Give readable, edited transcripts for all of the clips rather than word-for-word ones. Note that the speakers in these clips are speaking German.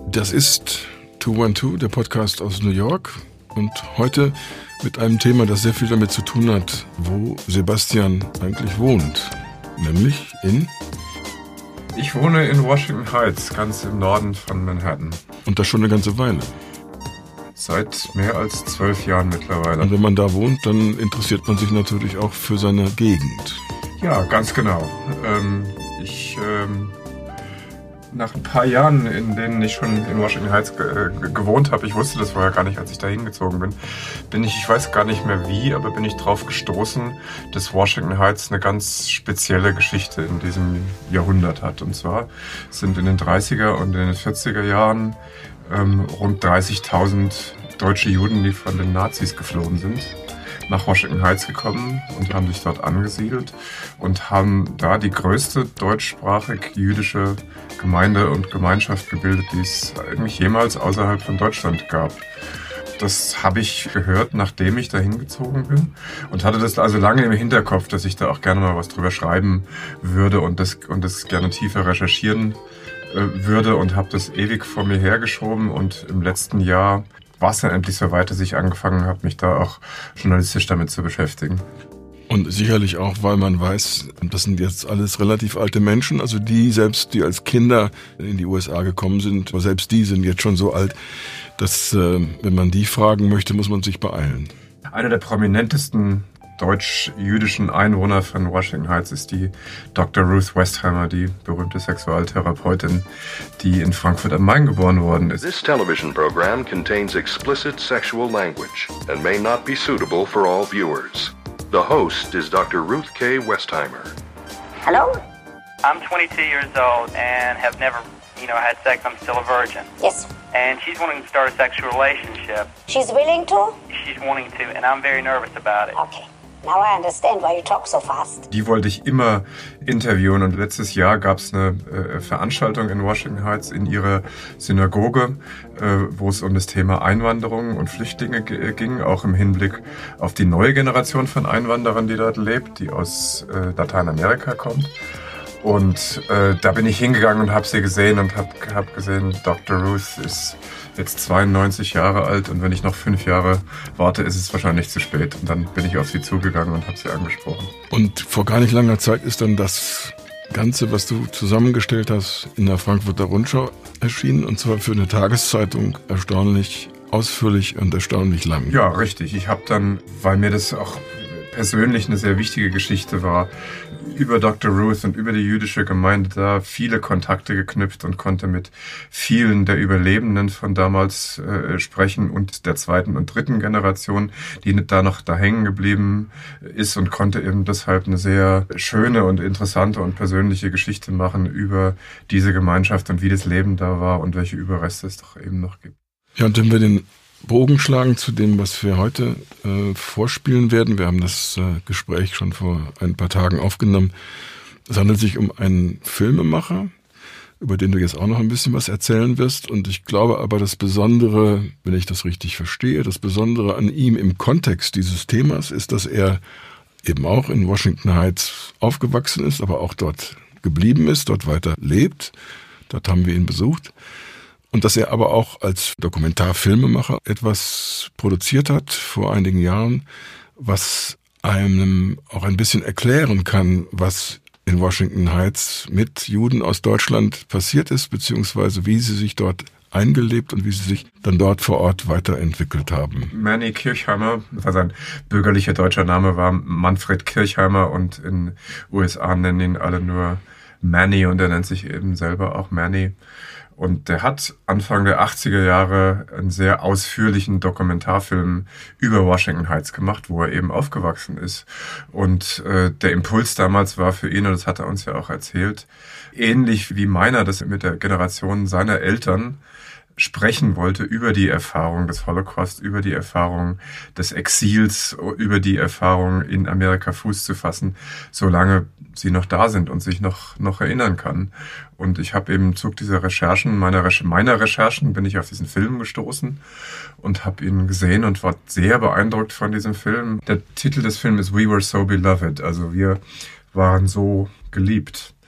Das ist 212, der Podcast aus New York. Und heute mit einem Thema, das sehr viel damit zu tun hat, wo Sebastian eigentlich wohnt. Nämlich in... Ich wohne in Washington Heights, ganz im Norden von Manhattan. Und das schon eine ganze Weile. Seit mehr als 12 Jahren mittlerweile. Und wenn man da wohnt, dann interessiert man sich natürlich auch für seine Gegend. Ja, ganz genau. Nach ein paar Jahren, in denen ich schon in Washington Heights gewohnt habe, ich wusste das vorher gar nicht, als ich da hingezogen bin, ich weiß gar nicht mehr wie, aber bin ich drauf gestoßen, dass Washington Heights eine ganz spezielle Geschichte in diesem Jahrhundert hat. Und zwar sind in den 30er und in den 40er Jahren rund 30.000 deutsche Juden, die von den Nazis geflohen sind, nach Washington Heights gekommen und haben sich dort angesiedelt und haben da die größte deutschsprachig jüdische Gemeinde und Gemeinschaft gebildet, die es eigentlich jemals außerhalb von Deutschland gab. Das habe ich gehört, nachdem ich da hingezogen bin und hatte das also lange im Hinterkopf, dass ich da auch gerne mal was drüber schreiben würde und das gerne tiefer recherchieren würde und habe das ewig vor mir hergeschoben und im letzten Jahr war es dann endlich so weit, dass ich angefangen habe, mich da auch journalistisch damit zu beschäftigen. Und sicherlich auch, weil man weiß, das sind jetzt alles relativ alte Menschen, also die als Kinder in die USA gekommen sind, aber selbst die sind jetzt schon so alt, dass, wenn man die fragen möchte, muss man sich beeilen. Einer der prominentesten deutsch-jüdischen Einwohner von Washington Heights ist die Dr. Ruth Westheimer, die berühmte Sexualtherapeutin, die in Frankfurt am Main geboren worden ist. This television program contains explicit sexual language and may not be suitable for all viewers. The host is Dr. Ruth K. Westheimer. Hello? I'm 22 years old and have never, had sex. I'm still a virgin. Yes. And she's wanting to start a sexual relationship. She's willing to? She's wanting to, and I'm very nervous about it. Okay. Now I understand why you talk so fast. Die wollte ich immer interviewen und letztes Jahr gab es eine Veranstaltung in Washington Heights in ihrer Synagoge, wo es um das Thema Einwanderung und Flüchtlinge ging, auch im Hinblick auf die neue Generation von Einwanderern, die dort lebt, die aus Lateinamerika kommt. Und da bin ich hingegangen und habe sie gesehen und hab gesehen, Dr. Ruth ist jetzt 92 Jahre alt und wenn ich noch 5 Jahre warte, ist es wahrscheinlich zu spät. Und dann bin ich auf sie zugegangen und habe sie angesprochen. Und vor gar nicht langer Zeit ist dann das Ganze, was du zusammengestellt hast, in der Frankfurter Rundschau erschienen und zwar für eine Tageszeitung erstaunlich ausführlich und erstaunlich lang. Ja, richtig. Ich habe dann, weil mir das auch persönlich eine sehr wichtige Geschichte war, über Dr. Ruth und über die jüdische Gemeinde da viele Kontakte geknüpft und konnte mit vielen der Überlebenden von damals sprechen und der 2. und 3. Generation, die da noch da hängen geblieben ist und konnte eben deshalb eine sehr schöne und interessante und persönliche Geschichte machen über diese Gemeinschaft und wie das Leben da war und welche Überreste es doch eben noch gibt. Ja, und wenn wir den Bogen schlagen zu dem, was wir heute vorspielen werden. Wir haben das Gespräch schon vor ein paar Tagen aufgenommen. Es handelt sich um einen Filmemacher, über den du jetzt auch noch ein bisschen was erzählen wirst. Und ich glaube aber, das Besondere, wenn ich das richtig verstehe, das Besondere an ihm im Kontext dieses Themas ist, dass er eben auch in Washington Heights aufgewachsen ist, aber auch dort geblieben ist, dort weiter lebt. Dort haben wir ihn besucht. Und dass er aber auch als Dokumentarfilmemacher etwas produziert hat vor einigen Jahren, was einem auch ein bisschen erklären kann, was in Washington Heights mit Juden aus Deutschland passiert ist, beziehungsweise wie sie sich dort eingelebt und wie sie sich dann dort vor Ort weiterentwickelt haben. Manny Kirchheimer, sein bürgerlicher deutscher Name war Manfred Kirchheimer und in USA nennen ihn alle nur Manny und er nennt sich eben selber auch Manny. Und der hat Anfang der 80er Jahre einen sehr ausführlichen Dokumentarfilm über Washington Heights gemacht, wo er eben aufgewachsen ist. Und der Impuls damals war für ihn, und das hat er uns ja auch erzählt, ähnlich wie meiner, das mit der Generation seiner Eltern sprechen wollte über die Erfahrung des Holocaust, über die Erfahrung des Exils, über die Erfahrung in Amerika Fuß zu fassen, solange sie noch da sind und sich noch erinnern kann. Und ich habe eben im Zug dieser Recherchen, meiner Recherchen, bin ich auf diesen Film gestoßen und habe ihn gesehen und war sehr beeindruckt von diesem Film. Der Titel des Films ist We Were So Beloved, also wir waren so geliebt.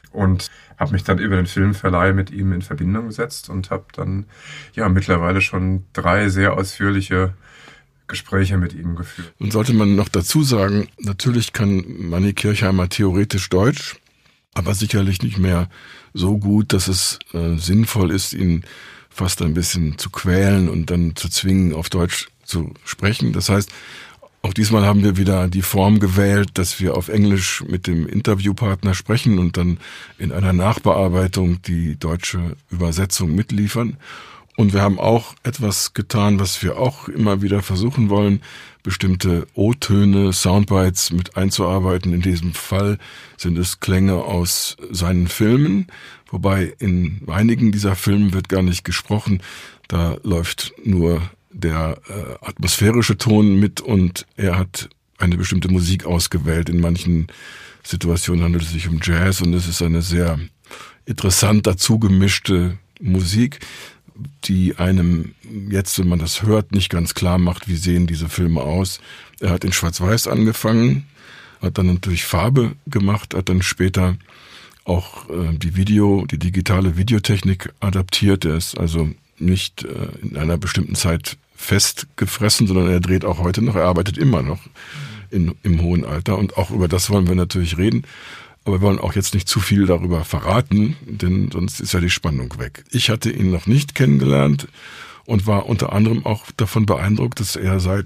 und habe mich dann über den Filmverleih mit ihm in Verbindung gesetzt und habe dann mittlerweile schon 3 sehr ausführliche Gespräche mit ihm geführt. Und sollte man noch dazu sagen, natürlich kann Manni Kirchheimer theoretisch Deutsch, aber sicherlich nicht mehr so gut, dass es sinnvoll ist, ihn fast ein bisschen zu quälen und dann zu zwingen, auf Deutsch zu sprechen. Das heißt, auch diesmal haben wir wieder die Form gewählt, dass wir auf Englisch mit dem Interviewpartner sprechen und dann in einer Nachbearbeitung die deutsche Übersetzung mitliefern. Und wir haben auch etwas getan, was wir auch immer wieder versuchen wollen, bestimmte O-Töne, Soundbites mit einzuarbeiten. In diesem Fall sind es Klänge aus seinen Filmen, wobei in einigen dieser Filme wird gar nicht gesprochen. Da läuft nur der atmosphärische Ton mit und er hat eine bestimmte Musik ausgewählt. In manchen Situationen handelt es sich um Jazz und es ist eine sehr interessant dazu gemischte Musik, die einem jetzt, wenn man das hört, nicht ganz klar macht, wie sehen diese Filme aus. Er hat in Schwarz-Weiß angefangen, hat dann natürlich Farbe gemacht, hat dann später auch die digitale Videotechnik adaptiert. Er ist also nicht in einer bestimmten Zeit festgefressen, sondern er dreht auch heute noch, er arbeitet immer noch im hohen Alter und auch über das wollen wir natürlich reden. Aber wir wollen auch jetzt nicht zu viel darüber verraten, denn sonst ist ja die Spannung weg. Ich hatte ihn noch nicht kennengelernt und war unter anderem auch davon beeindruckt, dass er seit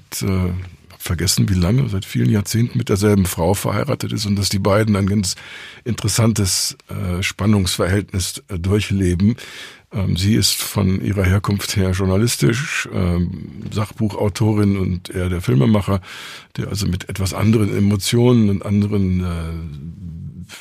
vielen Jahrzehnten mit derselben Frau verheiratet ist und dass die beiden ein ganz interessantes Spannungsverhältnis durchleben. Sie ist von ihrer Herkunft her journalistisch, Sachbuchautorin und er der Filmemacher, der also mit etwas anderen Emotionen und anderen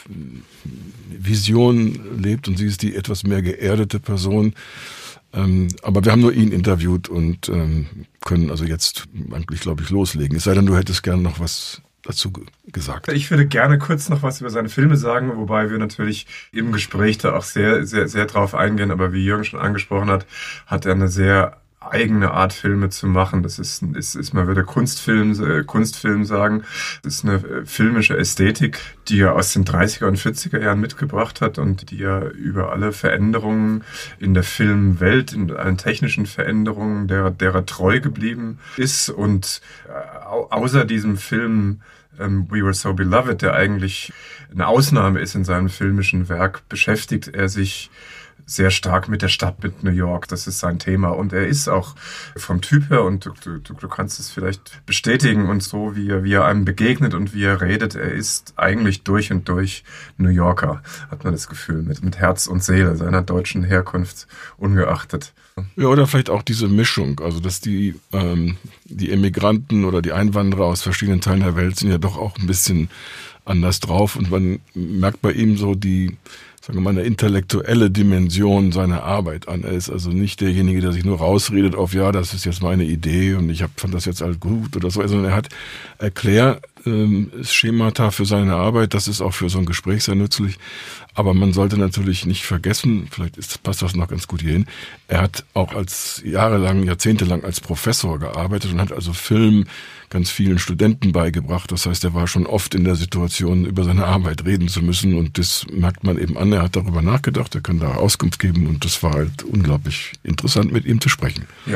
Visionen lebt und sie ist die etwas mehr geerdete Person. Aber wir haben nur ihn interviewt und können also jetzt eigentlich, glaube ich, loslegen. Es sei denn, du hättest gerne noch was dazu gesagt. Ich würde gerne kurz noch was über seine Filme sagen, wobei wir natürlich im Gespräch da auch sehr, sehr, sehr drauf eingehen. Aber wie Jürgen schon angesprochen hat, hat er eine sehr eigene Art, Filme zu machen. Das ist man würde Kunstfilm sagen. Das ist eine filmische Ästhetik, die er aus den 30er und 40er Jahren mitgebracht hat und die er über alle Veränderungen in der Filmwelt, in allen technischen Veränderungen, derer treu geblieben ist. Und außer diesem Film We Were So Beloved, der eigentlich eine Ausnahme ist in seinem filmischen Werk, beschäftigt er sich sehr stark mit der Stadt, mit New York. Das ist sein Thema. Und er ist auch vom Typ her, und du kannst es vielleicht bestätigen, und so, wie er einem begegnet und wie er redet, er ist eigentlich durch und durch New Yorker, hat man das Gefühl, mit Herz und Seele, seiner deutschen Herkunft ungeachtet. Ja, oder vielleicht auch diese Mischung, also dass die Emigranten oder die Einwanderer aus verschiedenen Teilen der Welt sind ja doch auch ein bisschen anders drauf und man merkt bei ihm so die, sagen wir mal, eine intellektuelle Dimension seiner Arbeit an. Er ist also nicht derjenige, der sich nur rausredet auf, ja, das ist jetzt meine Idee und ich fand das jetzt halt gut oder so, sondern er hat Erklärschemata für seine Arbeit. Das ist auch für so ein Gespräch sehr nützlich. Aber man sollte natürlich nicht vergessen, passt das noch ganz gut hierhin, er hat auch jahrzehntelang als Professor gearbeitet und hat also Film ganz vielen Studenten beigebracht. Das heißt, er war schon oft in der Situation, über seine Arbeit reden zu müssen und das merkt man eben an. Er hat darüber nachgedacht, er kann da Auskunft geben und das war halt unglaublich interessant, mit ihm zu sprechen. Ja.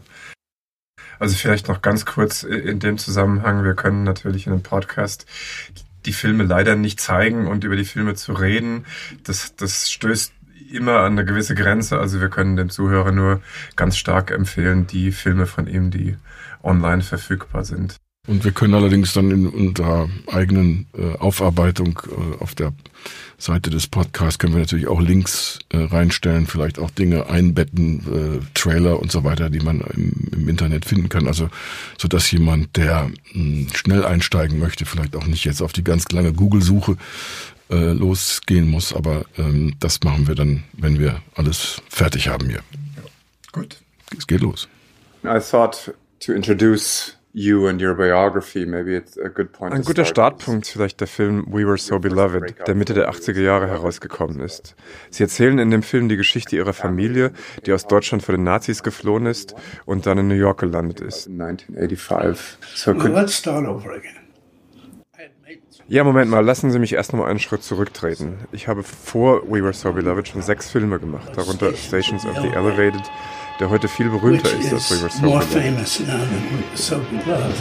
Also vielleicht noch ganz kurz in dem Zusammenhang, wir können natürlich in einem Podcast die Filme leider nicht zeigen und über die Filme zu reden, das stößt immer an eine gewisse Grenze. Also wir können dem Zuhörer nur ganz stark empfehlen, die Filme von ihm, die online verfügbar sind. Und wir können allerdings dann in unserer eigenen Aufarbeitung auf der Seite des Podcasts können wir natürlich auch Links reinstellen, vielleicht auch Dinge einbetten, Trailer und so weiter, die man im Internet finden kann. Also so dass jemand, der schnell einsteigen möchte, vielleicht auch nicht jetzt auf die ganz lange Google-Suche losgehen muss. Aber das machen wir dann, wenn wir alles fertig haben hier. Ja. Gut. Es geht los. I thought to introduce you and your biography, maybe it's a good point. Ein guter Startpunkt vielleicht der Film We Were So Beloved, der Mitte der 80er Jahre herausgekommen ist. Sie erzählen in dem Film die Geschichte ihrer Familie, die aus Deutschland vor den Nazis geflohen ist und dann in New York gelandet ist. 1985. So let's start over again. Ja, Moment mal, lassen Sie mich erst noch mal einen Schritt zurücktreten. Ich habe vor We Were So Beloved schon 6 Filme gemacht, darunter Stations of the Elevated, der heute viel berühmter ist als We Were So Beloved.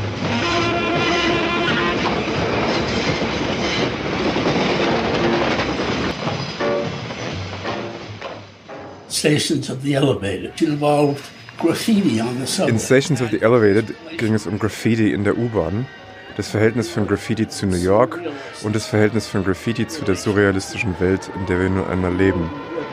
Stations of the Elevated involved graffiti on the subway. In Stations of the Elevated ging es um Graffiti in der U-Bahn, das Verhältnis von Graffiti zu New York und das Verhältnis von Graffiti zu der surrealistischen Welt, in der wir nur einmal leben.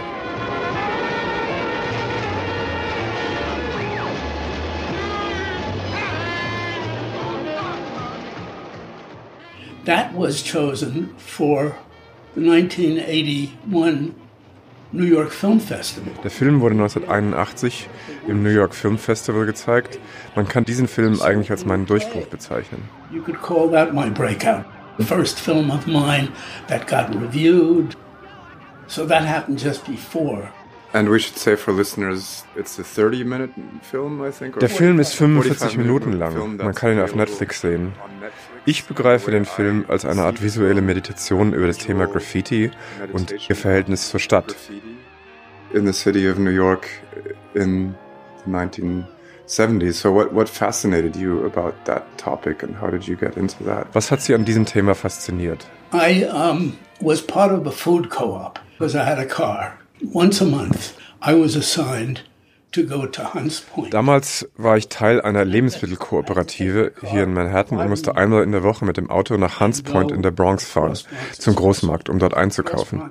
That was chosen for the 1981 New York Film Festival. Der Film wurde 1981 im New York Film Festival gezeigt. Man kann diesen Film eigentlich als meinen Durchbruch bezeichnen. You could call that my breakout. The first film of mine that got reviewed. So that happened just before. And we should say for listeners, it's a 30-minute film, I think. Der Film ist 45 Minuten lang. Man kann ihn auf Netflix sehen. Ich begreife den Film als eine Art visuelle Meditation über das Thema Graffiti und ihr Verhältnis zur Stadt. In the city of New York in the 1970s. So what fascinated you about that topic and how did you get into that? Was hat Sie an diesem Thema fasziniert? I was part of a food co-op because I had a car. Once a month I was assigned to go to Hunts Point. Damals war ich Teil einer Lebensmittelkooperative hier in Manhattan und musste einmal in der Woche mit dem Auto nach Hunts Point in der Bronx fahren, zum Großmarkt, um dort einzukaufen.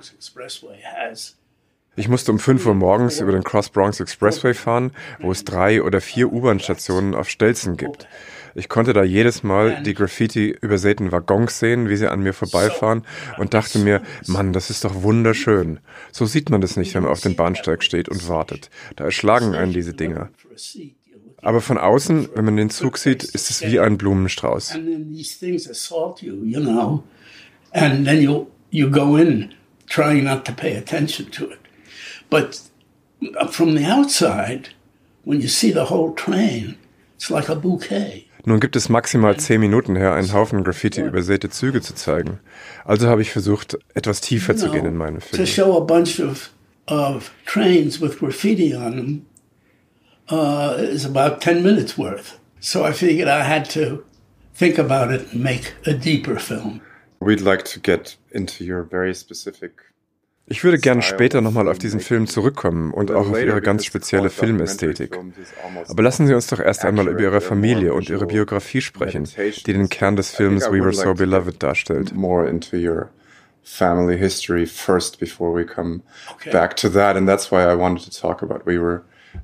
Ich musste um 5 Uhr morgens über den Cross Bronx Expressway fahren, wo es 3 oder 4 U-Bahn-Stationen auf Stelzen gibt. Ich konnte da jedes Mal die Graffiti-übersäten Waggons sehen, wie sie an mir vorbeifahren und dachte mir, Mann, das ist doch wunderschön. So sieht man das nicht, wenn man auf dem Bahnsteig steht und wartet. Da erschlagen einen diese Dinger. Aber von außen, wenn man den Zug sieht, ist es wie ein Blumenstrauß. And then you go in trying not to pay attention to it. But from the outside, when you see the whole train, it's like a bouquet. Nun gibt es maximal 10 Minuten her, einen Haufen Graffiti-übersäte Züge zu zeigen. Also habe ich versucht, etwas tiefer zu gehen in meinem Film. To show a bunch of trains with graffiti on them is about 10 minutes worth. So I figured I had to think about it and make a deeper film. We'd like to get into your very specific. Ich würde gerne später nochmal auf diesen Film zurückkommen und auch auf Ihre ganz spezielle Filmästhetik. Aber lassen Sie uns doch erst einmal über Ihre Familie und Ihre Biografie sprechen, die den Kern des Films We Were So Beloved darstellt. More into your family history first before we come back to that, and that's why I wanted to talk about We Were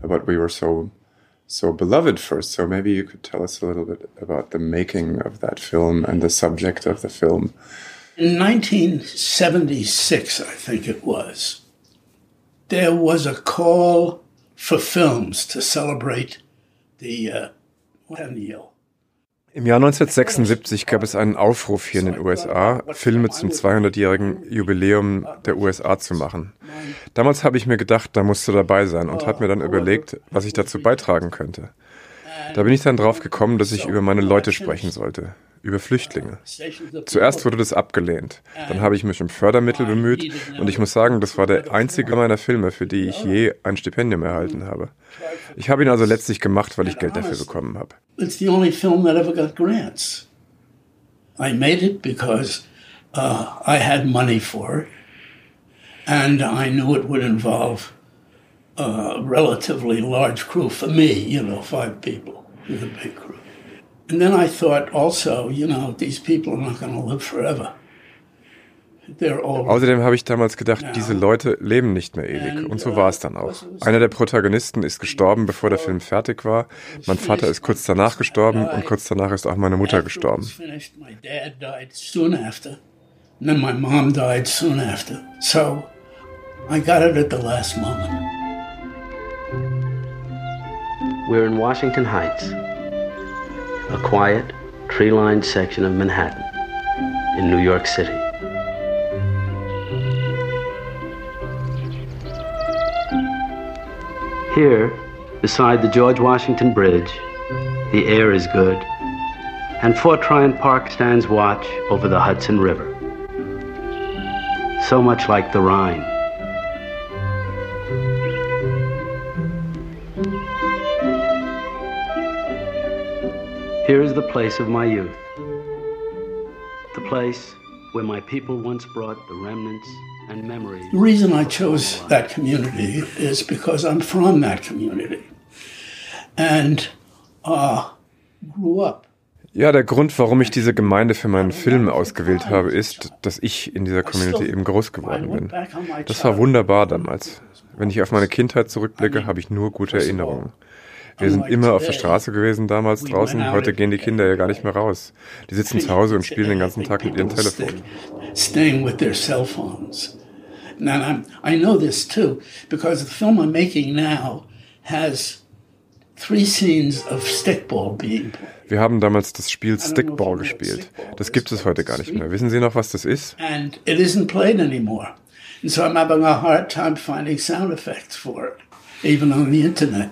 So Beloved first. So maybe you could tell us a little bit about the making of that film and the subject of the film. In 1976, I think it was, there was a call for films to celebrate the centennial. Im Jahr 1976 gab es einen Aufruf hier in den USA, Filme zum 200-jährigen Jubiläum der USA zu machen. Damals habe ich mir gedacht, da musst du dabei sein und habe mir dann überlegt, was ich dazu beitragen könnte. Da bin ich dann drauf gekommen, dass ich über meine Leute sprechen sollte, über Flüchtlinge. Zuerst wurde das abgelehnt, dann habe ich mich um Fördermittel bemüht und ich muss sagen, das war der einzige meiner Filme, für die ich je ein Stipendium erhalten habe. Ich habe ihn also letztlich gemacht, weil ich Geld dafür bekommen habe. It's the only film that ever got grants. I made it because I had money for it and I knew it would involve a relatively large crew for me, 5 people with a big crew. And then I thought also, these people are not going to live forever. Außerdem habe ich damals gedacht, diese Leute leben nicht mehr ewig. Und so war es dann auch. Einer der Protagonisten ist gestorben, bevor der Film fertig war. Mein Vater ist kurz danach gestorben und kurz danach ist auch meine Mutter gestorben. My dad died soon after. And then my mom died soon after. So I got it at the last moment. We're in Washington Heights, a quiet, tree-lined section of Manhattan in New York City. Here, beside the George Washington Bridge, the air is good, and Fort Tryon Park stands watch over the Hudson River. So much like the Rhine. Here is the place of my youth. The place where my people once brought the remnants and memories. The reason I chose that community is because I'm from that community and grew up. Ja, der Grund, warum ich diese Gemeinde für meinen Film ausgewählt habe, ist, dass ich in dieser Community eben groß geworden bin. Das war wunderbar damals. Wenn ich auf meine Kindheit zurückblicke, habe ich nur gute Erinnerungen. Wir sind immer auf der Straße gewesen damals draußen. Heute gehen die Kinder ja gar nicht mehr raus. Die sitzen zu Hause und spielen den ganzen Tag mit ihrem Telefon. Staying with their cell phones. And I know this too, because the film I'm making now has 3 scenes of stickball being played. Wir haben damals das Spiel Stickball gespielt. Das gibt es heute gar nicht mehr. Wissen Sie noch, was das ist? And it isn't played anymore. And so I'm having a hard time finding sound effects for it, even on the internet.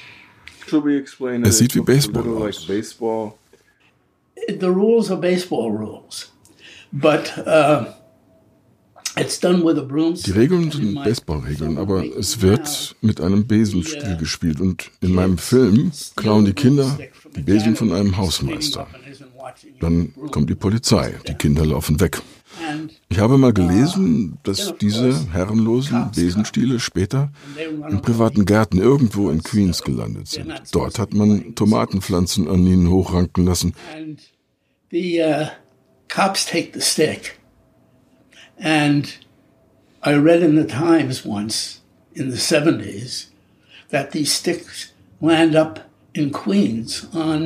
Es sieht wie Baseball aus. The rules are baseball rules, but it's done with a broomstick. Die Regeln sind Baseballregeln, aber es wird mit einem Besenstiel gespielt. Und in meinem Film klauen die Kinder die Besen von einem Hausmeister. Dann kommt die Polizei, die Kinder laufen weg. Ich habe mal gelesen, dass diese herrenlosen Besenstiele später in privaten Gärten irgendwo in Queens gelandet sind. Dort hat man Tomatenpflanzen an ihnen hochranken lassen. The cops take the stick. And I read in the Times once, in the 70s, that these sticks land up in Queens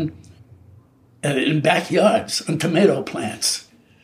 in backyards, on tomato plants.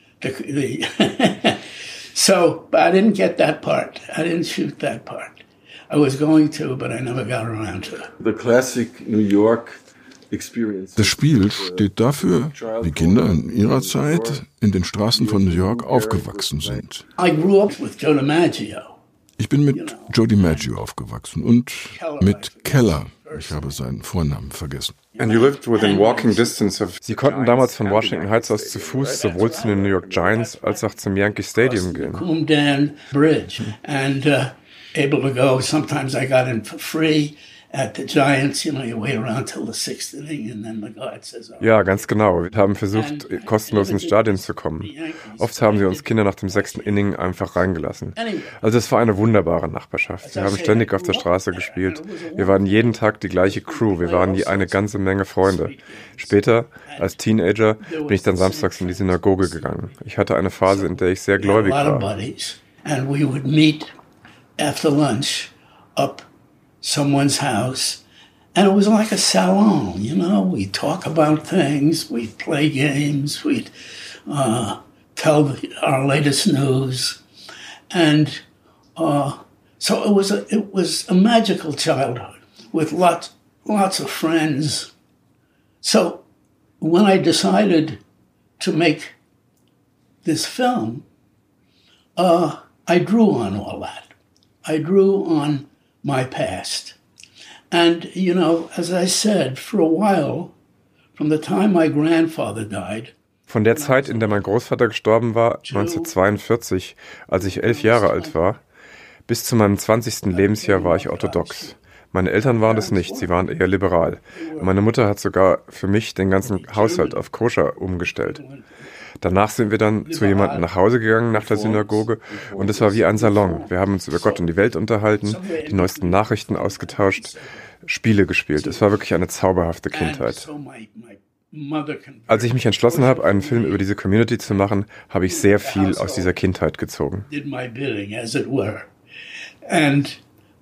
So, but I didn't get that part. I didn't shoot that part. I was going to, but I never got around to it. The classic New York experience. Das Spiel steht dafür, wie Kinder in ihrer Zeit in den Straßen von New York aufgewachsen sind. I grew up with Joe DiMaggio. Ich bin mit Joe DiMaggio aufgewachsen und mit Keller. Ich habe seinen Vornamen vergessen. And you lived within walking distance of... Sie konnten damals von Washington Heights aus zu Fuß sowohl zu den New York Giants als auch zum Yankee Stadium gehen. Coomdan Bridge and able to go. Sometimes I got in for free. At the Giants, you wait around till the 6th inning and then the guard says, oh. Ja, ganz genau. Wir haben versucht, kostenlos ins Stadion zu kommen. Oft haben sie uns Kinder nach dem 6. Inning einfach reingelassen. Also es war eine wunderbare Nachbarschaft. Wir haben ständig auf der Straße gespielt. Wir waren jeden Tag die gleiche Crew. Wir waren eine ganze Menge Freunde. Später, als Teenager, bin ich dann samstags in die Synagoge gegangen. Ich hatte eine Phase, in der ich sehr gläubig war. And we would meet after lunch up someone's house, and it was like a salon, we'd talk about things, we'd play games, we'd tell our latest news, and so it was a magical childhood with lots of friends. So when I decided to make this film, I drew on all that. I drew on my past. And, as I said, for a while, from the time my grandfather died. Von der Zeit, in der mein Großvater gestorben war, 1942, als ich 11 Jahre alt war, bis zu meinem 20. Lebensjahr war ich orthodox. Meine Eltern waren es nicht, sie waren eher liberal. Meine Mutter hat sogar für mich den ganzen Haushalt auf Koscher umgestellt. Danach sind wir dann zu jemandem nach Hause gegangen nach der Synagoge und es war wie ein Salon. Wir haben uns über Gott und die Welt unterhalten, die neuesten Nachrichten ausgetauscht, Spiele gespielt. Es war wirklich eine zauberhafte Kindheit. Als ich mich entschlossen habe, einen Film über diese Community zu machen, habe ich sehr viel aus dieser Kindheit gezogen. And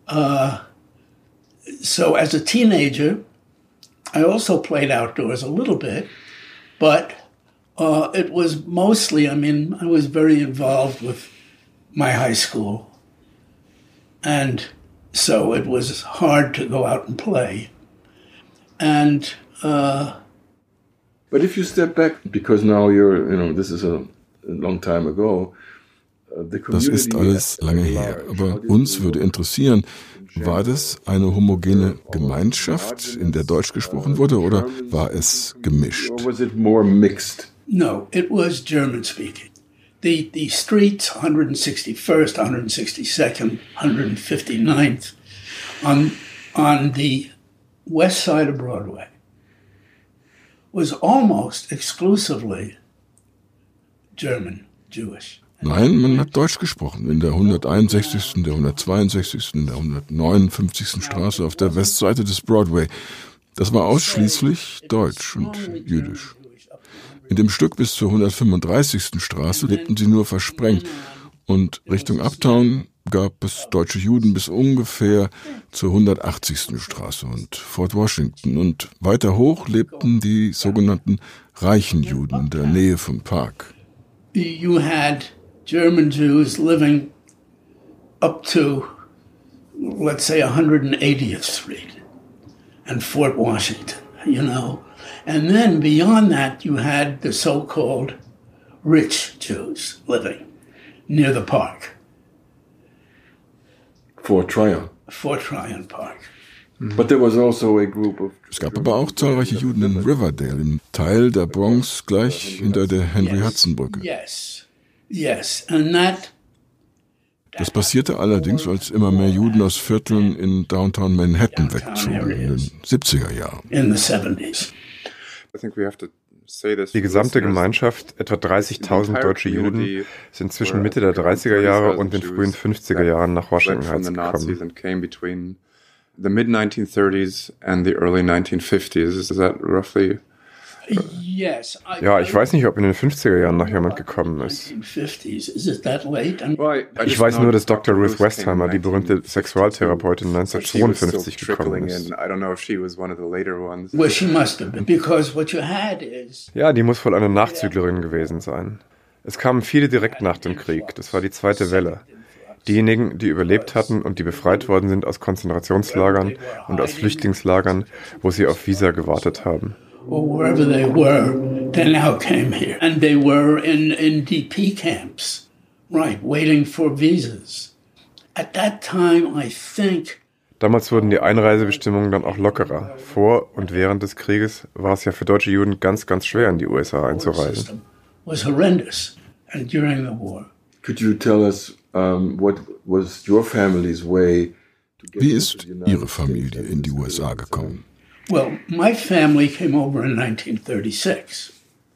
so as a teenager, I also played outdoors a little bit, but it was mostly, I was very involved with my high school. And so it was hard to go out and play. And but if you step back, because now this is a long time ago. Das ist alles lange her, aber uns würde interessieren, War das eine homogene Gemeinschaft, in der Deutsch gesprochen wurde, oder war es gemischt? No, it was German speaking. The streets, 161st, 162nd, 159th, on the west side of Broadway, was almost exclusively German, Jewish. Nein, man hat Deutsch gesprochen. In der 161., der 162., der 159. Straße auf der Westseite des Broadway. Das war ausschließlich Deutsch und Jüdisch. In dem Stück bis zur 135. Straße lebten sie nur versprengt. Und Richtung Uptown gab es deutsche Juden bis ungefähr zur 180. Straße und Fort Washington. Und weiter hoch lebten die sogenannten reichen Juden in der Nähe vom Park. You had German Jews living up to, let's say, 180th Street and Fort Washington, you know. And then beyond that, you had the so-called rich Jews living near the park. Fort Tryon Park. But there was also a group of... Es gab aber auch zahlreiche Juden in Riverdale, im Teil der Bronx gleich hinter der Henry-Hudson-Brücke. Yes, and that... Das passierte allerdings, als immer mehr Juden aus Vierteln in Downtown Manhattan wegzogen, in den 70er Jahren. In the 70s. Die gesamte Gemeinschaft, etwa 30.000 deutsche Juden, sind zwischen Mitte der 30er Jahre und den frühen 50er Jahren nach Washington Heights gekommen. The mid-1930s and the early 1950s, is that roughly? Ja, ich weiß nicht, ob in den 50er Jahren noch jemand gekommen ist. Ich weiß nur, dass Dr. Ruth Westheimer, die berühmte Sexualtherapeutin, 1952 gekommen ist. Ja, die muss wohl eine Nachzüglerin gewesen sein. Es kamen viele direkt nach dem Krieg, das war die zweite Welle. Diejenigen, die überlebt hatten und die befreit worden sind aus Konzentrationslagern und aus Flüchtlingslagern, wo sie auf Visa gewartet haben. Or wherever they were, they now came here. And they were in DP camps, right, waiting for visas. At that time, I think... Damals wurden die Einreisebestimmungen dann auch lockerer. Vor und während des Krieges war es ja für deutsche Juden ganz, ganz schwer, in die USA einzureisen. Was horrendous. And during the war. Could you tell us what was your family's way? Wie ist Ihre Familie in die USA gekommen? Well, my family came over in 1936.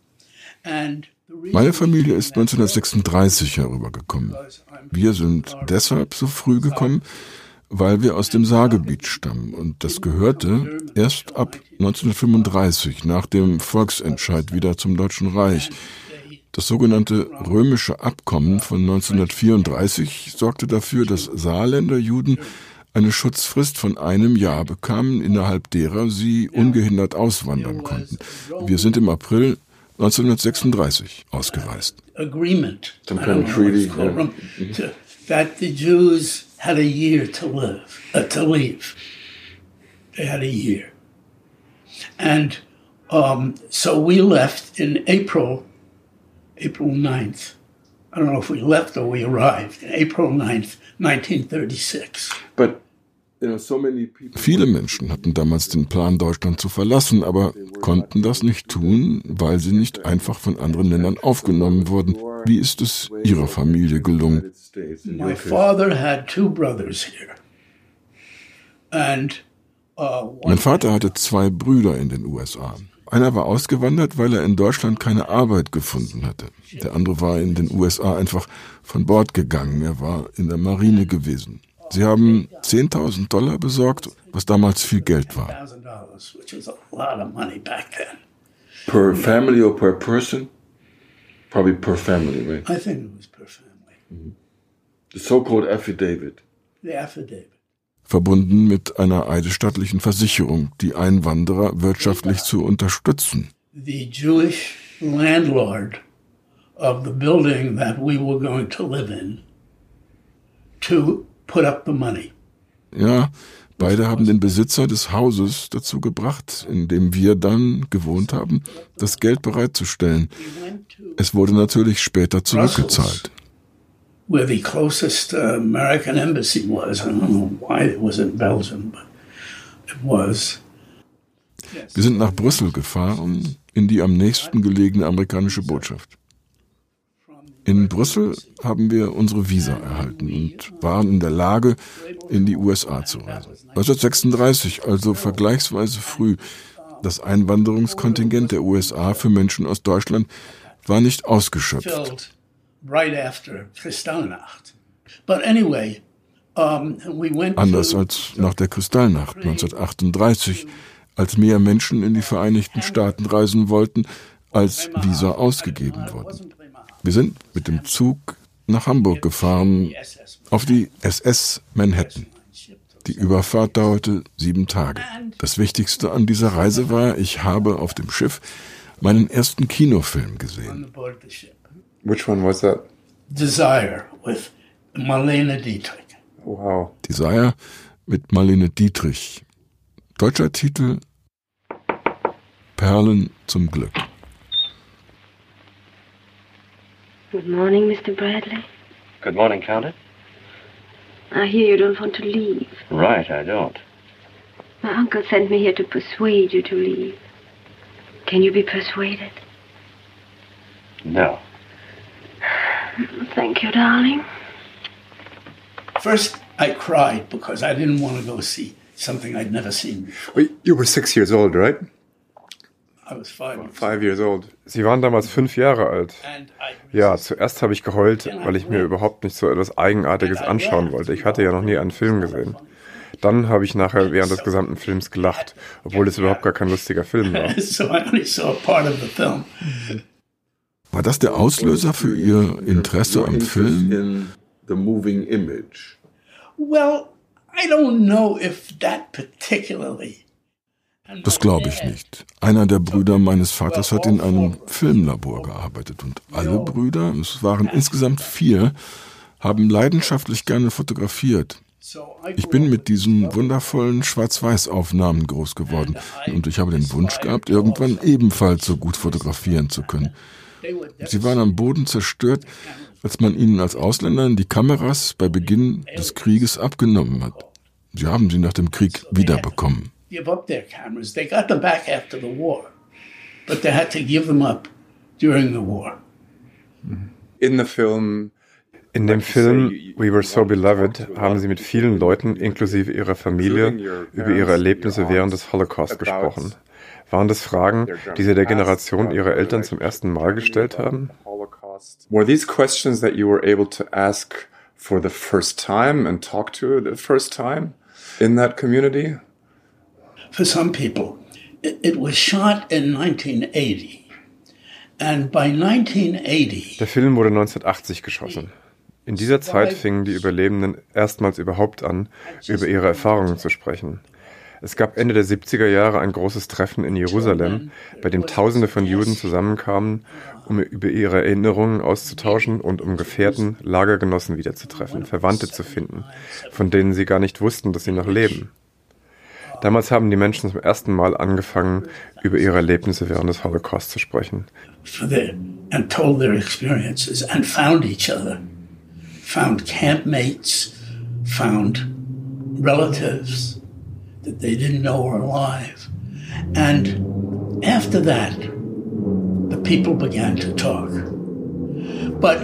Meine Familie ist 1936 herübergekommen. Wir sind deshalb so früh gekommen, weil wir aus dem Saargebiet stammen. Und das gehörte erst ab 1935, nach dem Volksentscheid, wieder zum Deutschen Reich. Das sogenannte Römische Abkommen von 1934 sorgte dafür, dass Saarländer Juden eine Schutzfrist von 1 Jahr bekamen, innerhalb derer sie ungehindert auswandern konnten. Wir sind im April 1936 ausgereist. Agreement, that the Jews had a year to leave. They had a year. And so we left in April 9th. I don't know if we left or we arrived. April 9th, 1936. Viele Menschen hatten damals den Plan, Deutschland zu verlassen, aber konnten das nicht tun, weil sie nicht einfach von anderen Ländern aufgenommen wurden. Wie ist es Ihrer Familie gelungen? My father had 2 brothers here. Mein Vater hatte 2 Brüder in den USA. Einer war ausgewandert, weil er in Deutschland keine Arbeit gefunden hatte. Der andere war in den USA einfach von Bord gegangen. Er war in der Marine gewesen. Sie haben $10.000 besorgt, was damals viel Geld war. Per family or per person? Probably per family, right? I think it was per family. The so-called affidavit. The affidavit. Verbunden mit einer eidesstattlichen Versicherung, die Einwanderer wirtschaftlich zu unterstützen. The Jewish landlord of the building that we were going to live in to put up the money. Ja, beide haben den Besitzer des Hauses dazu gebracht, in dem wir dann gewohnt haben, das Geld bereitzustellen. Es wurde natürlich später zurückgezahlt. where the closest American embassy was. I don't know why it was in Belgium, but it was. Wir sind nach Brüssel gefahren, in die am nächsten gelegene amerikanische Botschaft. In Brüssel haben wir unsere Visa erhalten und waren in der Lage, in die USA zu reisen. 1936, also vergleichsweise früh. Das Einwanderungskontingent der USA für Menschen aus Deutschland war nicht ausgeschöpft. Anders als nach der Kristallnacht 1938, als mehr Menschen in die Vereinigten Staaten reisen wollten, als Visa ausgegeben wurden. Wir sind mit dem Zug nach Hamburg gefahren, auf die SS Manhattan. Die Überfahrt dauerte 7 Tage. Das Wichtigste an dieser Reise war, ich habe auf dem Schiff meinen ersten Kinofilm gesehen. Which one was that? Desire with Marlene Dietrich. Wow. Desire mit Marlene Dietrich. Deutscher Titel Perlen zum Glück. Good morning, Mr. Bradley. Good morning, Countess. I hear you don't want to leave. Right, I don't. My uncle sent me here to persuade you to leave. Can you be persuaded? No. Thank you, darling. First, I cried because I didn't want to go see something I'd never seen before. Wait, you were 6 years old, right? I was 5. 5 years old. Sie waren damals 5 Jahre alt. Ja, zuerst habe ich geheult, weil ich mir überhaupt nicht so etwas Eigenartiges anschauen wollte. Ich hatte ja noch nie einen Film gesehen. Dann habe ich nachher während des gesamten Films gelacht, obwohl es überhaupt gar kein lustiger Film war. So I only saw a part of the film. War das der Auslöser für Ihr Interesse am Film? The moving image. Well, I don't know if that particularly. Das glaube ich nicht. Einer der Brüder meines Vaters hat in einem Filmlabor gearbeitet und alle Brüder, es waren insgesamt 4, haben leidenschaftlich gerne fotografiert. Ich bin mit diesen wundervollen Schwarz-Weiß-Aufnahmen groß geworden und ich habe den Wunsch gehabt, irgendwann ebenfalls so gut fotografieren zu können. Sie waren am Boden zerstört, als man ihnen als Ausländern die Kameras bei Beginn des Krieges abgenommen hat. Sie haben sie nach dem Krieg wiederbekommen. Give up their cameras. They got them back after the war, but they had to give them up during the war. In the film. In dem Film We Were So Beloved haben sie mit vielen Leuten, inklusive ihrer Familie, über ihre Erlebnisse während des Holocaust gesprochen. Waren das Fragen, die sie der Generation ihrer Eltern zum ersten Mal gestellt haben? Were these questions that you were able to ask for the first time and talk to the first time in that community? For some people, it was shot in 1980. And by 1980, der Film wurde 1980 geschossen. In dieser Zeit fingen die Überlebenden erstmals überhaupt an, über ihre Erfahrungen zu sprechen. Es gab Ende der 70er Jahre ein großes Treffen in Jerusalem, bei dem Tausende von Juden zusammenkamen, um über ihre Erinnerungen auszutauschen und um Gefährten, Lagergenossen wiederzutreffen, Verwandte zu finden, von denen sie gar nicht wussten, dass sie noch leben. Damals haben die Menschen zum ersten Mal angefangen, über ihre Erlebnisse während des Holocaust zu sprechen. And told their experiences and found each other. Found campmates, found relatives that they didn't know were alive. And after that, the people began to talk. But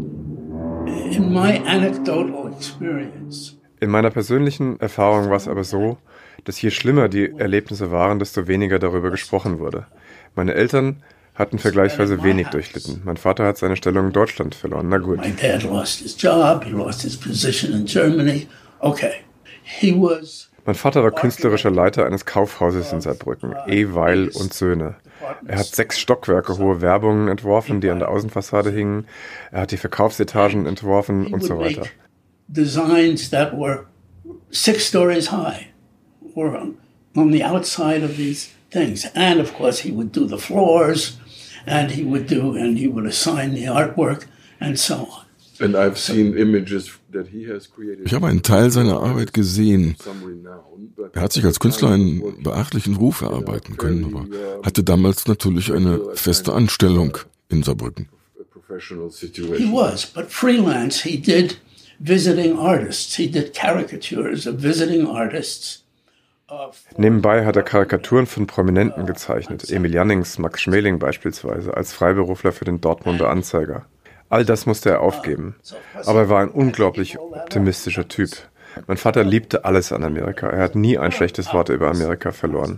in my anecdotal experience, in meiner persönlichen Erfahrung war es aber so, dass je schlimmer die Erlebnisse waren, desto weniger darüber gesprochen wurde. Meine Eltern hatten vergleichsweise wenig durchlitten. Mein Vater hat seine Stellung in Deutschland verloren. Na gut. My dad lost his job, he lost his position in Germany. Okay. Mein Vater war künstlerischer Leiter eines Kaufhauses in Saarbrücken, E. Weil und Söhne. Er hat 6 Stockwerke hohe Werbungen entworfen, die an der Außenfassade hingen. Er hat die Verkaufsetagen entworfen und so weiter. Designs that were 6 stories high were on the outside of these things. And of course he would do the floors and he would assign the artwork and so on. And I've seen images that he has created. Ich habe einen Teil seiner Arbeit gesehen. Er hat sich als Künstler einen beachtlichen Ruf erarbeiten können, aber hatte damals natürlich eine feste Anstellung in Saarbrücken. professional He situation. was, but freelance, he did visiting artists. He did caricatures of visiting artists. Nebenbei hat er Karikaturen von Prominenten gezeichnet, Emil Jannings, Max Schmeling beispielsweise, als Freiberufler für den Dortmunder Anzeiger. All das musste er aufgeben, aber er war ein unglaublich optimistischer Typ. Mein Vater liebte alles an Amerika, er hat nie ein schlechtes Wort über Amerika verloren.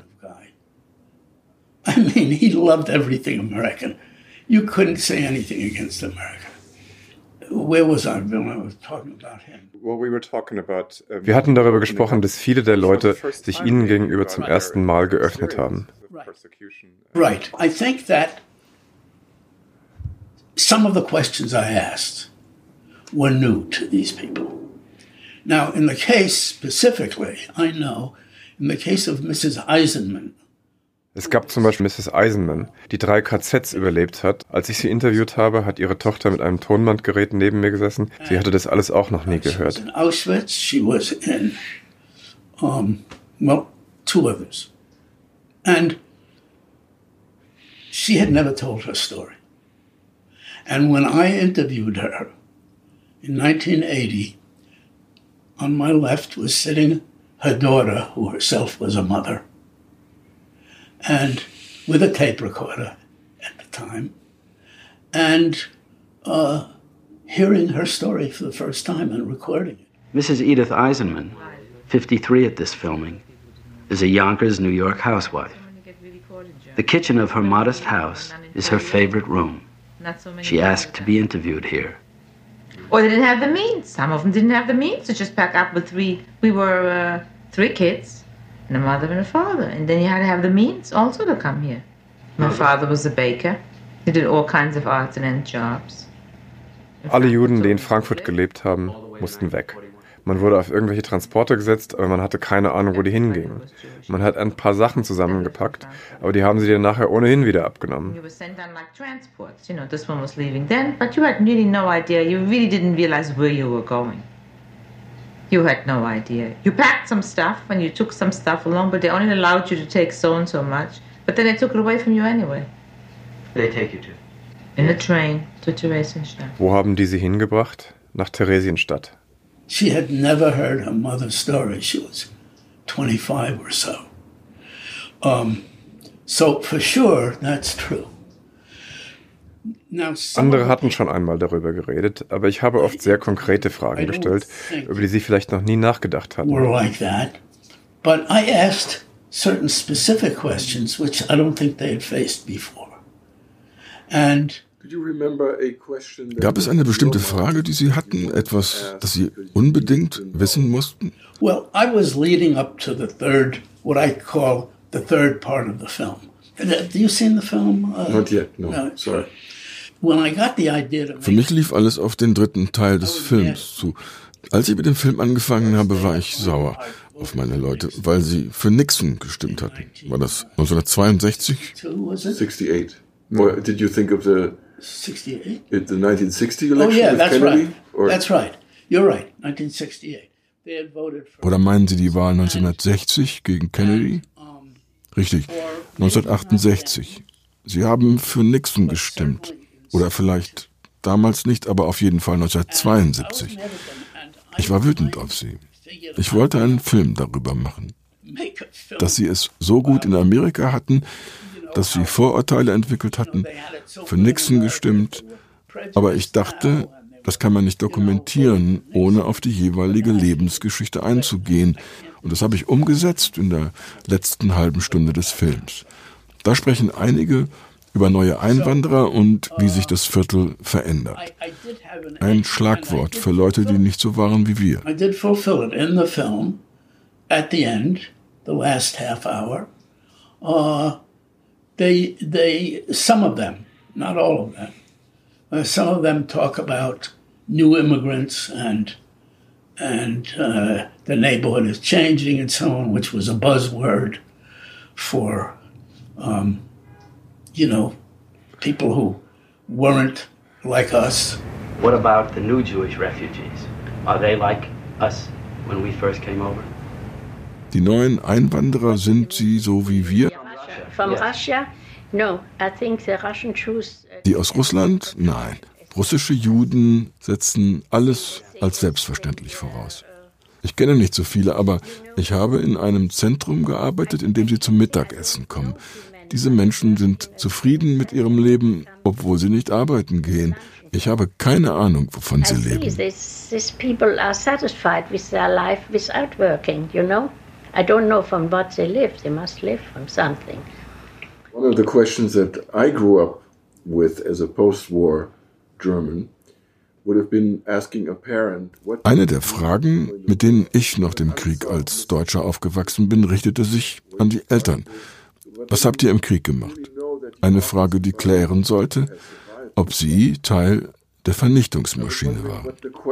I mean, he loved everything American. You couldn't say anything against America. Where was I when I was talking about him? Wir hatten darüber gesprochen, dass viele der Leute sich ihnen gegenüber zum ersten Mal geöffnet haben. Right. I think that some of the questions I asked were new to these people. Now, in the case specifically, I know, in the case of Mrs. Eisenman. Es gab zum Beispiel Mrs. Eisenman, die 3 KZs überlebt hat. Als ich sie interviewt habe, hat ihre Tochter mit einem Tonbandgerät neben mir gesessen. Sie hatte das alles auch noch nie gehört. In Auschwitz, she was in, 2 others. And she had never told her story. And when I interviewed her in 1980, on my left was sitting her daughter, who herself was a mother, and with a tape recorder at the time, and hearing her story for the first time and recording it. Mrs. Edith Eisenman, 53 at this filming, is a Yonkers, New York housewife. The kitchen of her modest house is her favorite room. She asked to be interviewed here. Or they didn't have the means. Some of them didn't have the means to just pack up with 3. We were 3 kids. And a mother and a father. And then you had to have the means also to come here. My father was a baker. He did all kinds of arts and end jobs. Alle Juden, die in Frankfurt gelebt haben, mussten weg. Man wurde auf irgendwelche Transporte gesetzt, aber man hatte keine Ahnung, wo die hingingen. Man hat ein paar Sachen zusammengepackt, aber die haben sie dir nachher ohnehin wieder abgenommen. You were sent on like transports. You know, this one was leaving then, but you had really no idea. You really didn't realize where you were going. You had no idea. You packed some stuff and you took some stuff along, but they only allowed you to take so and so much. But then they took it away from you anyway. They take you to? In a train to Theresienstadt. Wo haben die sie hingebracht? Nach Theresienstadt. She had never heard her mother's story. She was 25 or so. So for sure, that's true. Andere hatten schon einmal darüber geredet, aber ich habe oft sehr konkrete Fragen gestellt, über die sie vielleicht noch nie nachgedacht hatten. Were like that, but I asked certain specific questions which I don't think they had faced before. And gab es eine bestimmte Frage, die Sie hatten, etwas, das Sie unbedingt wissen mussten? Well, I was leading up to the third, what I call the third part of the film. Have you seen the film? Not yet, no, sorry. When I got the idea to Für mich lief alles auf den 3. Teil des Films zu. Als ich mit dem Film angefangen habe, war ich sauer auf meine Leute, weil sie für Nixon gestimmt hatten. War das 1962? 68. Or did you think of the 68? The 1960 election? Oh yeah, with that's Kennedy? right. Or? That's right. You're right. 1968. They had voted for. Oder meinen Sie die Wahl 1960 gegen Kennedy? Richtig, 1968. Sie haben für Nixon gestimmt. Oder vielleicht damals nicht, aber auf jeden Fall 1972. Ich war wütend auf sie. Ich wollte einen Film darüber machen. Dass sie es so gut in Amerika hatten, dass sie Vorurteile entwickelt hatten, für Nixon gestimmt. Aber ich dachte, das kann man nicht dokumentieren, ohne auf die jeweilige Lebensgeschichte einzugehen. Und das habe ich umgesetzt in der letzten halben Stunde des Films. Da sprechen einige über neue Einwanderer und wie sich das Viertel verändert. Ein Schlagwort für Leute, die nicht so waren wie wir. I did fulfill it in the film. At the end, the last half hour, some of them, not all of them, some of them talk about new immigrants and the neighborhood is changing and so on, which was a buzzword for, people who weren't like us. What about the new Jewish refugees? Are they like us when we first came over? Die neuen Einwanderer, sind sie so wie wir? From Russia? No, I think the Russian Jews. Die aus Russland? Nein. Russische Juden setzen alles als selbstverständlich voraus. Ich kenne nicht so viele, aber ich habe in einem Zentrum gearbeitet, in dem sie zum Mittagessen kommen. Diese Menschen sind zufrieden mit ihrem Leben, obwohl sie nicht arbeiten gehen. Ich habe keine Ahnung, wovon sie leben. These people are satisfied with their life without working, you know? I don't know from what they live. They must live from something. One of the questions that I grew up with as a post-war German would have been asking a parent what... Eine der Fragen, mit denen ich nach dem Krieg als Deutscher aufgewachsen bin, richtete sich an die Eltern. Was habt ihr im Krieg gemacht? Eine Frage, die klären sollte, ob sie Teil der Vernichtungsmaschine waren.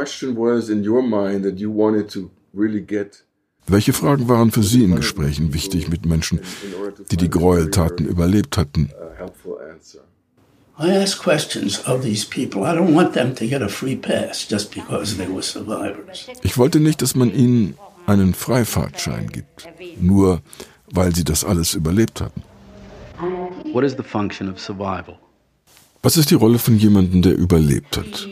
Welche Fragen waren für Sie in Gesprächen wichtig mit Menschen, die die Gräueltaten überlebt hatten? I ask questions of these people. I don't want them to get a free pass just because they were survivors. Ich wollte nicht, dass man ihnen einen Freifahrtschein gibt, nur weil sie das alles überlebt hatten. What is the function of survival? Was ist die Rolle von jemandem, der überlebt hat?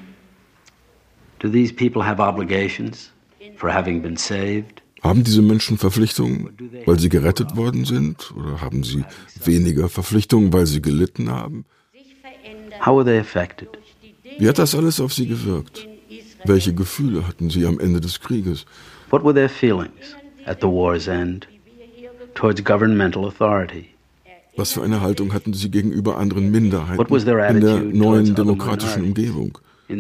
Do these people have obligations for having been saved? Haben diese Menschen Verpflichtungen, weil sie gerettet worden sind? Oder haben sie weniger Verpflichtungen, weil sie gelitten haben? How were they affected? Wie hat das alles auf sie gewirkt? Welche Gefühle hatten sie am Ende des Krieges? What were their feelings at the war's end towards governmental authority? Was für eine Haltung hatten sie gegenüber anderen Minderheiten in der neuen demokratischen Umgebung?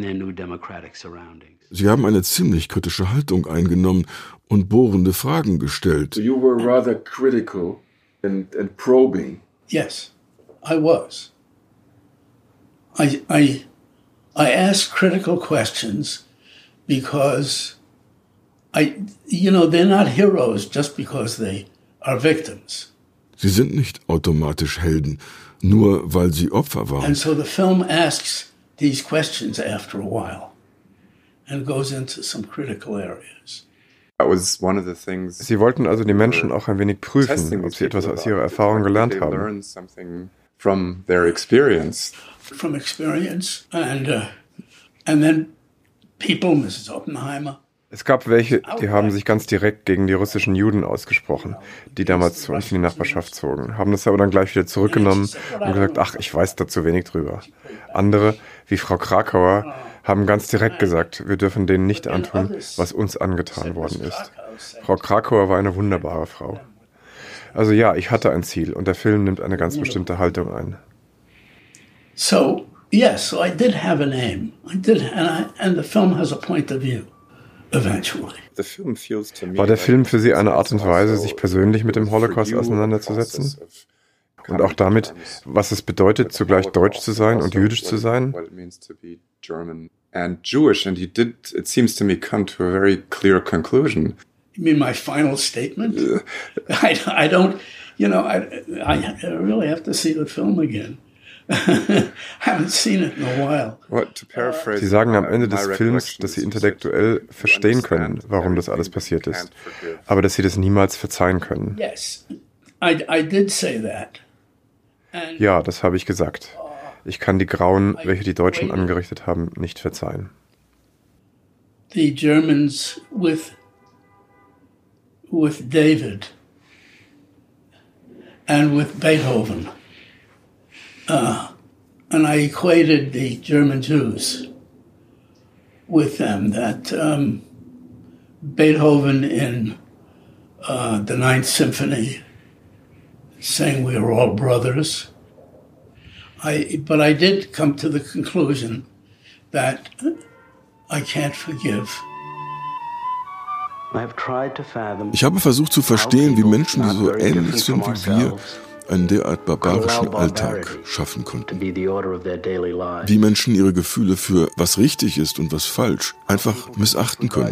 Sie haben eine ziemlich kritische Haltung eingenommen und bohrende Fragen gestellt. So you were rather critical and probing. Yes, I was. I ask critical questions because they're not heroes just because they are victims. Sie sind nicht automatisch Helden, nur weil sie Opfer waren. And so the film asks these questions after a while and goes into some critical areas. Sie wollten also die Menschen auch ein wenig prüfen, ob sie etwas aus ihrer Erfahrung gelernt haben. From their experience. From experience and then people, Mrs. Oppenheimer. Es gab welche, die haben sich ganz direkt gegen die russischen Juden ausgesprochen, die damals zu uns in die Nachbarschaft zogen, haben das aber dann gleich wieder zurückgenommen und gesagt, ach, ich weiß da zu wenig drüber. Andere, wie Frau Krakauer, haben ganz direkt gesagt, wir dürfen denen nicht antun, was uns angetan worden ist. Frau Krakauer war eine wunderbare Frau. Also ja, ich hatte ein Ziel und der Film nimmt eine ganz bestimmte Haltung ein. So, yes, so I did have an aim. I did, and the film has a point of view. Eventually. War der Film für Sie eine Art und Weise, sich persönlich mit dem Holocaust auseinanderzusetzen? Und auch damit, was es bedeutet, zugleich deutsch zu sein und jüdisch zu sein? And Jewish, and it seems to me, come to a very clear conclusion. You mean my final statement? I don't, I really have to see the film again. Haven't seen it in a while. Sie sagen am Ende des Films, dass Sie intellektuell verstehen können, warum das alles passiert ist, aber dass Sie das niemals verzeihen können. Yes, I did say that. Ja, das habe ich gesagt. Ich kann die Grauen, welche die Deutschen angerichtet haben, nicht verzeihen. The Germans with David and with Beethoven. And I equated the German Jews with them, that Beethoven in the Ninth Symphony saying we are all brothers. But I did come to the conclusion that I can't forgive. Ich habe versucht zu verstehen, wie Menschen, die so ähnlich sind wie wir, einen derart barbarischen Alltag schaffen konnten. Wie Menschen ihre Gefühle für was richtig ist und was falsch einfach missachten können.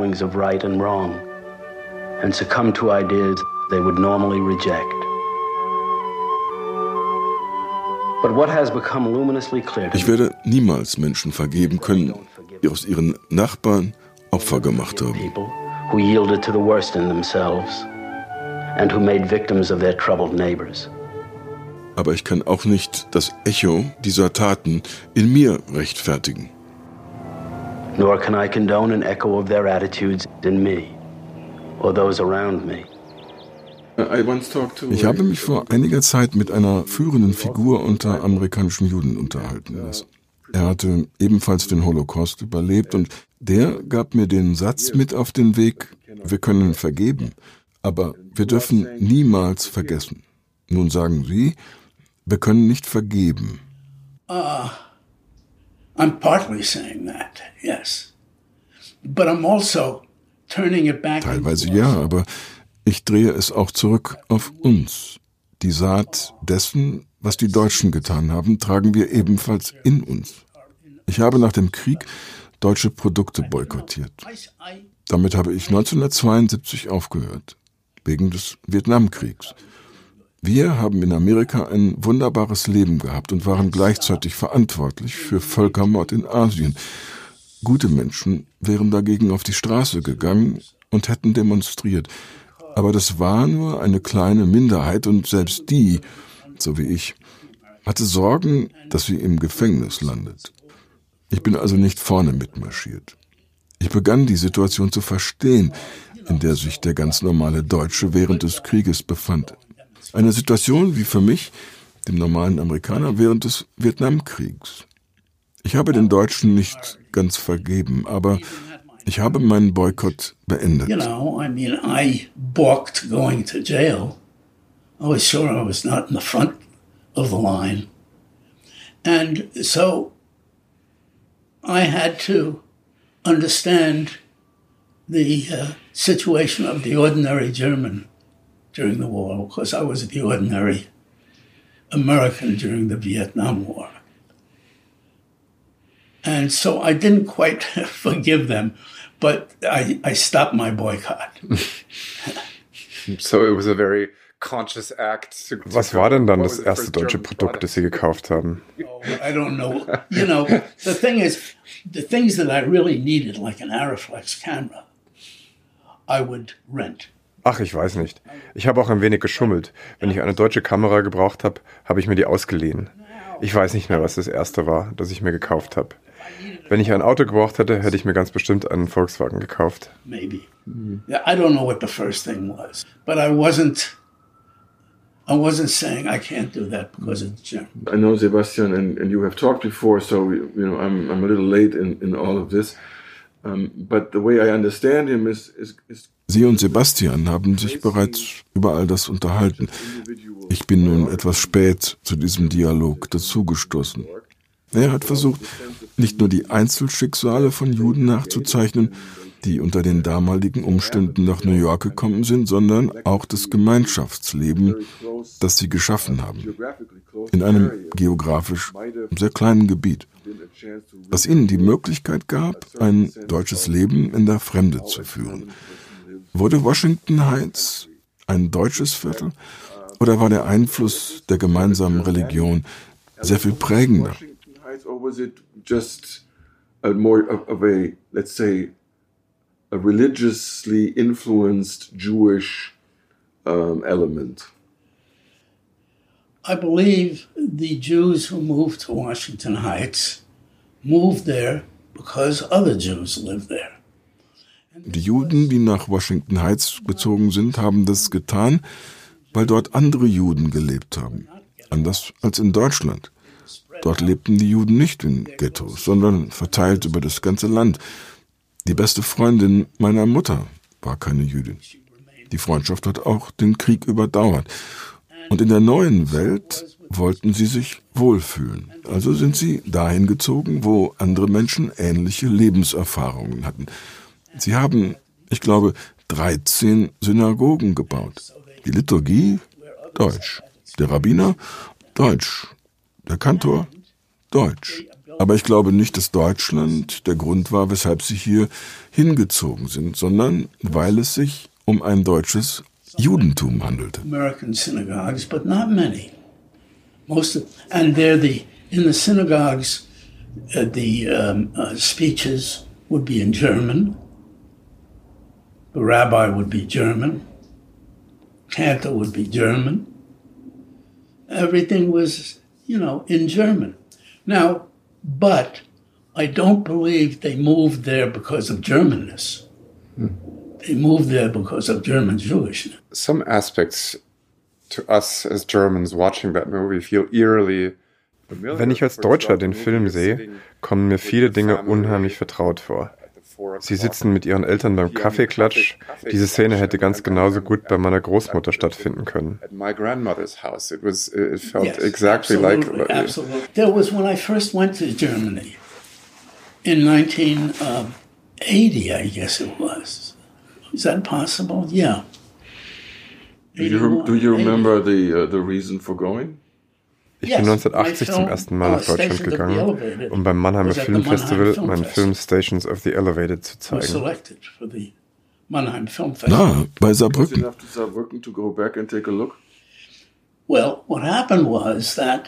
Ich werde niemals Menschen vergeben können, die aus ihren Nachbarn Opfer gemacht haben. Who yielded to the worst in themselves and who made victims of their troubled neighbors. aber ich kann auch nicht das Echo dieser Taten in mir rechtfertigen. Nor can I condone an echo of their attitudes in me or those around me. Ich habe mich vor einiger Zeit mit einer führenden Figur unter amerikanischen Juden unterhalten lassen. Er hatte ebenfalls den Holocaust überlebt und der gab mir den Satz mit auf den Weg: Wir können vergeben, aber wir dürfen niemals vergessen. Nun sagen Sie, wir können nicht vergeben. I'm partly saying that, yes. But I'm also turning it back. Teilweise ja, aber ich drehe es auch zurück auf uns. Die Saat dessen, was die Deutschen getan haben, tragen wir ebenfalls in uns. Ich habe nach dem Krieg deutsche Produkte boykottiert. Damit habe ich 1972 aufgehört, wegen des Vietnamkriegs. Wir haben in Amerika ein wunderbares Leben gehabt und waren gleichzeitig verantwortlich für Völkermord in Asien. Gute Menschen wären dagegen auf die Straße gegangen und hätten demonstriert. Aber das war nur eine kleine Minderheit und selbst die, so wie ich, hatte Sorgen, dass sie im Gefängnis landet. Ich bin also nicht vorne mitmarschiert. Ich begann die Situation zu verstehen, in der sich der ganz normale Deutsche während des Krieges befand. Eine Situation wie für mich, dem normalen Amerikaner, während des Vietnamkriegs. Ich habe den Deutschen nicht ganz vergeben, aber ich habe meinen Boykott beendet. You know, I mean, I balked going to jail. I was sure I was not in the front of the line. And so I had to understand the situation of the ordinary German during the war, because I was the ordinary American during the Vietnam War. And so I didn't quite forgive them, but I stopped my boycott. So it was a very conscious act. Was war denn dann das erste deutsche Produkt, das Sie gekauft haben? Oh, I don't know. You know, the thing is, the things that I really needed, like an Arriflex camera, I would rent. Ach, ich weiß nicht. Ich habe auch ein wenig geschummelt. Wenn ich eine deutsche Kamera gebraucht habe, habe ich mir die ausgeliehen. Ich weiß nicht mehr, was das erste war, das ich mir gekauft habe. Wenn ich ein Auto gebraucht hätte, hätte ich mir ganz bestimmt einen Volkswagen gekauft. Maybe. Yeah, I don't know what the first thing was, but I wasn't saying I can't do that because it's German. I know Sebastian and you have talked before, so I'm a little late in all of this. But the way I understand him is Sie und Sebastian haben sich bereits über all das unterhalten. Ich bin nun etwas spät zu diesem Dialog dazugestoßen. Er hat versucht, nicht nur die Einzelschicksale von Juden nachzuzeichnen, die unter den damaligen Umständen nach New York gekommen sind, sondern auch das Gemeinschaftsleben, das sie geschaffen haben, in einem geografisch sehr kleinen Gebiet, das ihnen die Möglichkeit gab, ein deutsches Leben in der Fremde zu führen. Wurde Washington Heights ein deutsches Viertel oder war der Einfluss der gemeinsamen Religion sehr viel prägender? Or was it just more of a, let's say, a religiously influenced Jewish element? I believe the Jews who moved to Washington Heights moved there because other Jews lived there. Die Juden, die nach Washington Heights gezogen sind, haben das getan, weil dort andere Juden gelebt haben. Anders als in Deutschland. Dort lebten die Juden nicht in Ghettos, sondern verteilt über das ganze Land. Die beste Freundin meiner Mutter war keine Jüdin. Die Freundschaft hat auch den Krieg überdauert. Und in der neuen Welt wollten sie sich wohlfühlen. Also sind sie dahin gezogen, wo andere Menschen ähnliche Lebenserfahrungen hatten. Sie haben, ich glaube, 13 Synagogen gebaut. Die Liturgie, Deutsch. Der Rabbiner, Deutsch. Der Kantor, Deutsch. Aber ich glaube nicht, dass Deutschland der Grund war, weshalb sie hier hingezogen sind, sondern weil es sich um ein deutsches Judentum handelte. American synagogues, but not many. And they're in the synagogues, the speeches would be in German. The rabbi would be German. Cantor would be German. everything was, in German. Now, but I don't believe they moved there because of Germanness. They moved there because of German Jewishness. Some aspects to us as Germans watching that movie feel eerily. Wenn ich als Deutscher den Film sehe, kommen mir viele Dinge unheimlich vertraut vor. Sie sitzen mit ihren Eltern beim Kaffeeklatsch. Diese Szene hätte ganz genauso gut bei meiner Großmutter stattfinden können. At my grandmother's house, it felt exactly like. Absolutely. There was when I first went to Germany in 1980, I guess it was. Is that possible? Yeah. Do you remember the reason for going? Ich bin 1980 zum ersten Mal nach Deutschland gegangen, um beim Mannheimer Filmfestival meinen Film Stations of the Elevated zu zeigen. Bei Saarbrücken. Well, what happened was that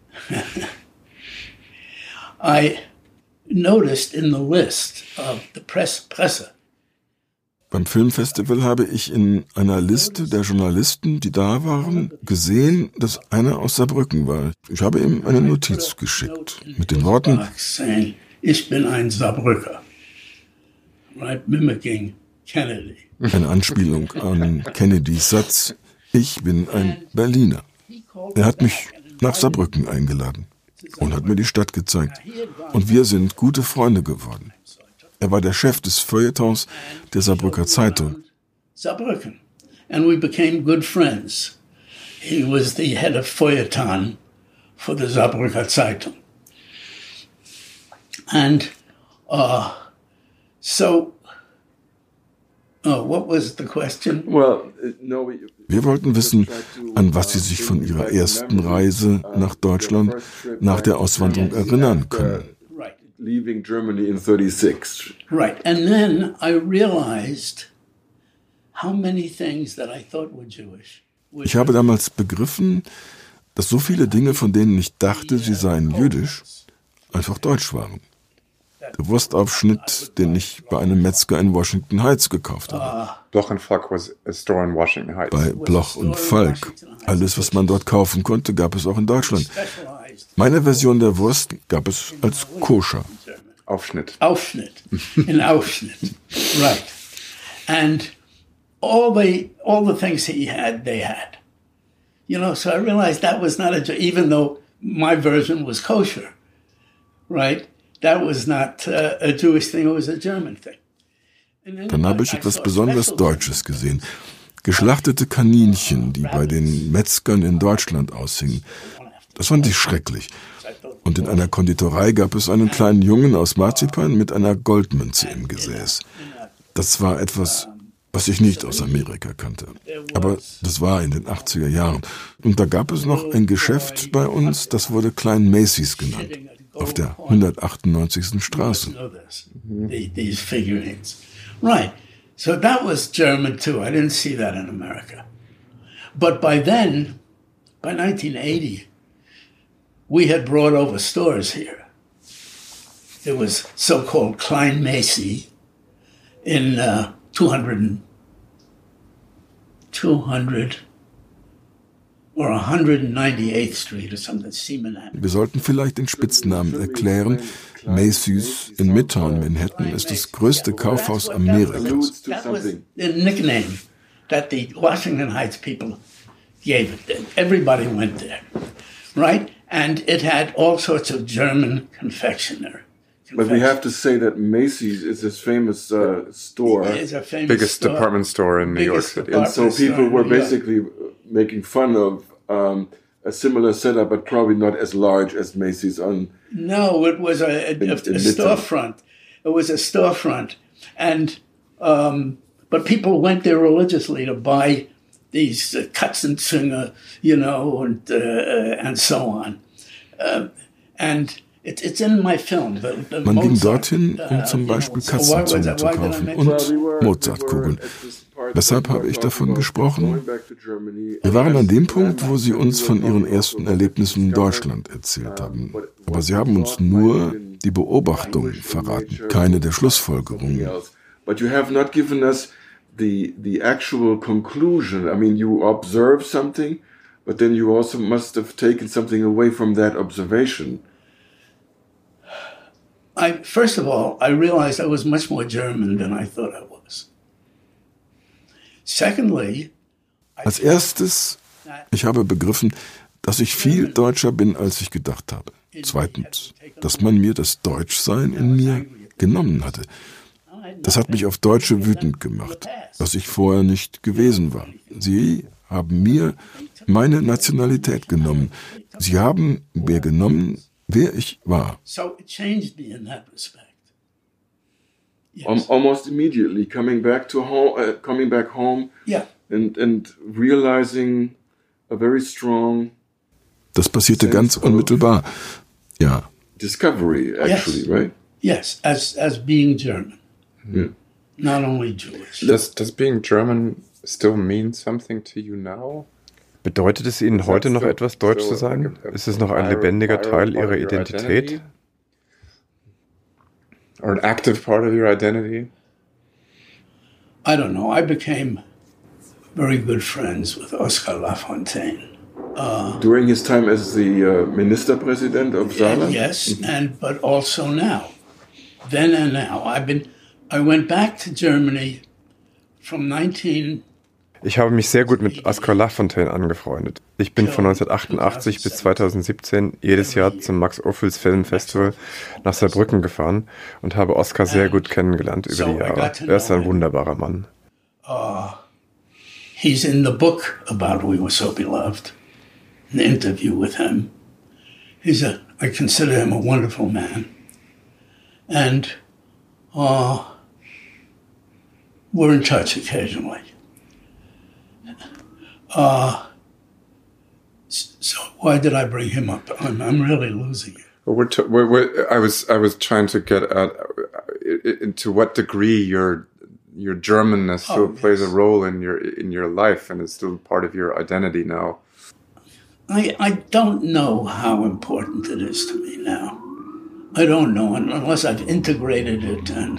I noticed in the list of the Presse. Beim Filmfestival habe ich in einer Liste der Journalisten, die da waren, gesehen, dass einer aus Saarbrücken war. Ich habe ihm eine Notiz geschickt mit den Worten: Ich bin ein Saarbrücker. Right, mimicking Kennedy. Eine Anspielung an Kennedys Satz: Ich bin ein Berliner. Er hat mich nach Saarbrücken eingeladen und hat mir die Stadt gezeigt. Und wir sind gute Freunde geworden. Er war der Chef des Feuilletons der Saarbrücker Zeitung. Saarbrücken. And we became good friends. He was the head of Feuilleton for the Saarbrücker Zeitung. And what was the question? Wir wollten wissen, an was Sie sich von Ihrer ersten Reise nach Deutschland nach der Auswanderung erinnern können. Leaving Germany in 36. Right. And then I realized how many things that I thought were Jewish. Ich habe damals begriffen, dass so viele Dinge, von denen ich dachte, sie seien jüdisch, einfach deutsch waren. Der Wurstaufschnitt, den ich bei einem Metzger in Washington Heights gekauft habe. Bloch & Falk was a store in Washington Heights. Bei Bloch und Falk. Alles, was man dort kaufen konnte, gab es auch in Deutschland. Meine Version der Wurst gab es als koscher. Aufschnitt. In Aufschnitt. Right. And all the things he had, they had. So I realized that was not even though my version was kosher, right? That was not a Jewish thing, it was a German thing. Dann habe ich etwas besonders Deutsches gesehen. Geschlachtete Kaninchen, die bei den Metzgern in Deutschland aushingen. Das fand ich schrecklich. Und in einer Konditorei gab es einen kleinen Jungen aus Marzipan mit einer Goldmünze im Gesäß. Das war etwas, was ich nicht aus Amerika kannte. Aber das war in den 80er Jahren. Und da gab es noch ein Geschäft bei uns, das wurde Klein Macy's genannt, auf der 198. Straße. These figurines. Right. So that was German too. I didn't see that in America. But by then, by 1980, we had brought over stores here. It was so-called Klein Macy in 200 or 198th Street or something. Wir sollten vielleicht den Spitznamen erklären. Macy's in Midtown Manhattan ist das größte Kaufhaus Amerikas. That was the nickname that the Washington Heights people gave it. Everybody went there, right? And it had all sorts of German confectionery. But we have to say that Macy's is this famous store. It's a famous biggest store. Department store in New York City. And so people were basically making fun of a similar setup, but probably not as large as Macy's on. No, it was a storefront. It was a storefront. And, but people went there religiously to buy these Katzenzinger, and so on. And it's in my film. Man ging dorthin, um zum Beispiel Katzenzungen zu kaufen und Mozartkugeln. Weshalb habe ich davon gesprochen? Wir waren an dem Punkt, wo sie uns von ihren ersten Erlebnissen in Deutschland erzählt haben. Aber sie haben uns nur die Beobachtung verraten, keine der Schlussfolgerungen. But you have not given us the actual conclusion. I mean, you observe something, But then you also must have taken something away from that observation. First of all, I realized I was much more German than I thought I was. Secondly, als erstes, ich habe begriffen, dass ich viel deutscher bin, als ich gedacht habe. Zweitens, dass man mir das Deutschsein in mir genommen hatte. Das hat mich auf Deutsche wütend gemacht, was ich vorher nicht gewesen war. Sie haben mir meine Nationalität genommen. Sie haben mir genommen, wer ich war. So it changed me in that respect. Yes. Almost immediately coming back home, yeah. and realizing a very strong. Das passierte ganz unmittelbar. Ja. Discovery, actually, yes. Right? Yes, as being German. Yeah. Not only Jewish. Does being German still mean something to you now? Bedeutet es Ihnen heute noch etwas, deutsch zu sein? Ist es noch ein lebendiger Teil Ihrer Identität? Or an active part of your identity? I don't know. I became very good friends with Oscar Lafontaine. During his time as the Ministerpräsident of Saarland? Yes, but also now. Then and now. I went back to Germany from 19... Ich habe mich sehr gut mit Oscar Lafontaine angefreundet. Ich bin von 1988 bis 2017 jedes Jahr zum Max-Ophüls Filmfestival nach Saarbrücken gefahren und habe Oscar sehr gut kennengelernt über die Jahre. Er ist ein wunderbarer Mann. He's in the book about We Were So Beloved. An interview with him. I consider him a wonderful man. And we're in touch occasionally. So why did I bring him up? I'm really losing it. I was trying to get at into what degree your Germanness still plays a role in your life and is still part of your identity now. I don't know how important it is to me now. I don't know unless I've integrated it and.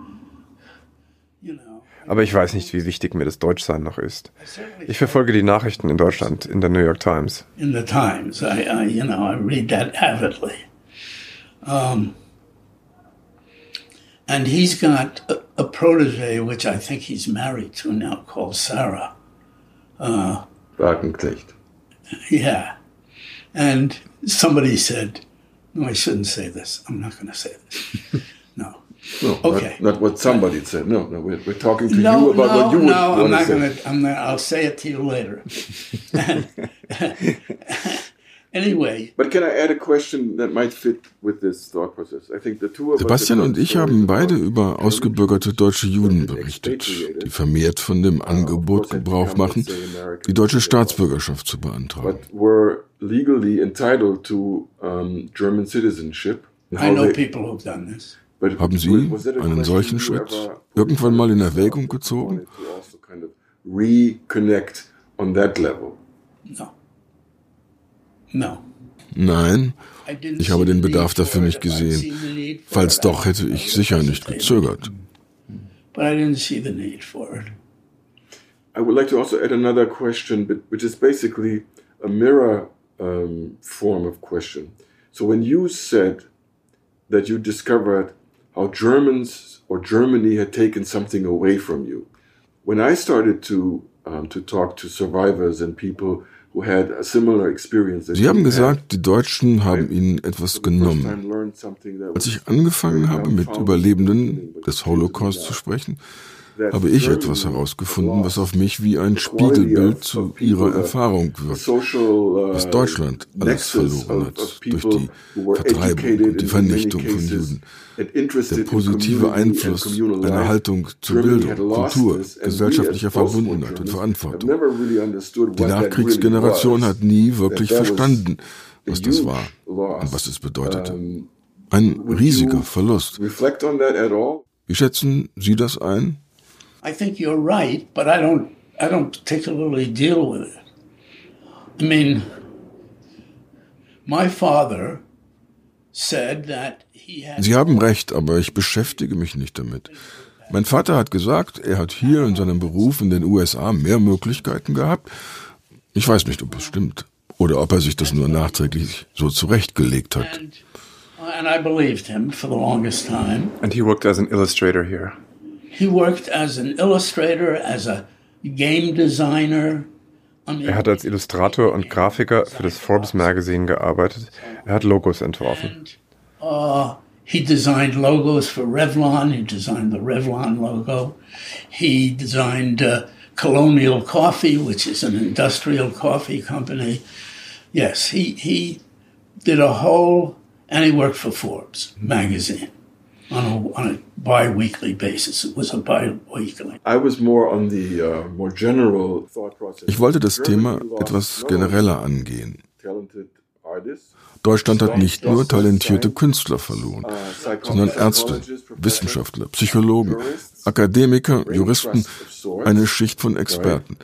Aber ich weiß nicht, wie wichtig mir das Deutschsein noch ist. Ich verfolge die Nachrichten in Deutschland, in der New York Times. In the Times, I read that avidly. And he's got a protege, which I think he's married to now, called Sarah. Wagenknecht. Yeah. And somebody said, no, I shouldn't say this. I'm not going to say this. No. No, okay. Not what somebody said. No, we're talking to you about what you would want to say. I'll say it to you later. Anyway. But can I add a question that might fit with this thought process? I think the two of Sebastian und ich haben beide über ausgebürgerte deutsche Juden berichtet, die vermehrt von dem Angebot Gebrauch machen, die deutsche Staatsbürgerschaft zu beantragen. But were legally entitled to German citizenship. I know people who've done this. Haben Sie einen solchen Schritt irgendwann mal in Erwägung gezogen? Reconnect on that level? No. Nein, ich habe den Bedarf dafür nicht gesehen. Falls doch, hätte ich sicher nicht gezögert. But I didn't see the need for it. I would like to also add another question, which is basically a mirror form of question. So when you said that you discovered how Germans or Germany had taken something away from you. When I started to talk to survivors and people who had a similar experience. Sie haben gesagt, die Deutschen haben ihnen etwas genommen. Als ich angefangen habe, mit Überlebenden des Holocaust zu sprechen, habe ich etwas herausgefunden, was auf mich wie ein Spiegelbild zu ihrer Erfahrung wirkt, was Deutschland alles verloren hat durch die Vertreibung und die Vernichtung von Juden. Der positive Einfluss einer Haltung zur Bildung, Kultur, gesellschaftlicher Verbundenheit und Verantwortung. Die Nachkriegsgeneration hat nie wirklich verstanden, was das war und was es bedeutete. Ein riesiger Verlust. Wie schätzen Sie das ein? I think you're right, but I don't particularly deal with it. I mean, my father said that he had. Sie haben recht, aber ich beschäftige mich nicht damit. Mein Vater hat gesagt, er hat hier in seinem Beruf in den USA mehr Möglichkeiten gehabt Ich weiß nicht, ob es stimmt oder ob er sich das nur nachträglich so zurechtgelegt hat. And I believed him for the longest time. And he worked as an illustrator here. He worked as an illustrator, as a game designer. Er hat als Illustrator und Grafiker für das Forbes Magazine gearbeitet. Er hat Logos entworfen. He designed logos for Revlon. He designed the Revlon logo. He designed Colonial Coffee, which is an industrial coffee company. Yes, he did a whole, and he worked for Forbes magazine on a bi-weekly basis. It was a bi-weekly. I was more on the more general thought process. Ich wollte das Thema etwas genereller angehen. Talented artists. Deutschland hat nicht nur talentierte Künstler verloren, sondern Ärzte, Wissenschaftler, Psychologen, Akademiker, Juristen, eine Schicht von Experten.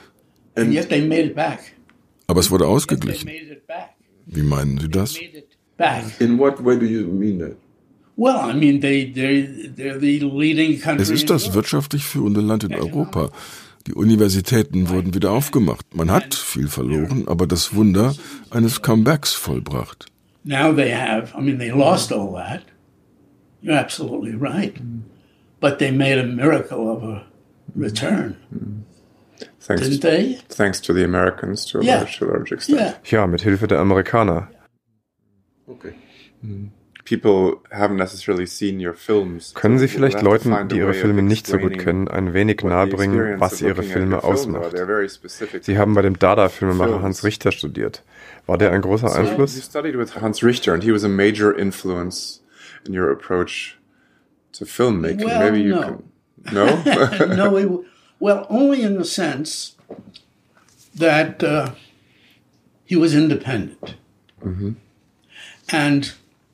Aber es wurde ausgeglichen. Wie meinen Sie das? In what way do you mean that? Well, I mean, they're the leading country. Es ist das wirtschaftlich führende Land in Europa. Die Universitäten wurden wieder aufgemacht. Man hat viel verloren, aber das Wunder eines Comebacks vollbracht. Now they have, I mean, they lost all that. You're absolutely right. But they made a miracle of a return. Didn't they? Thanks to the Americans to a large extent. Ja, mit Hilfe der Amerikaner. Okay. People haven't necessarily seen your films. Können Sie vielleicht Leuten, die Ihre Filme nicht so gut kennen, ein wenig nahebringen, was Ihre Filme ausmacht? Sie haben bei dem Dada-Filmemacher Hans Richter studiert. War der ein großer Einfluss? You studied with Hans Richter and he was a major influence in your approach to filmmaking. Well, maybe you no. can. No? No, well, only in the sense that he was independent. And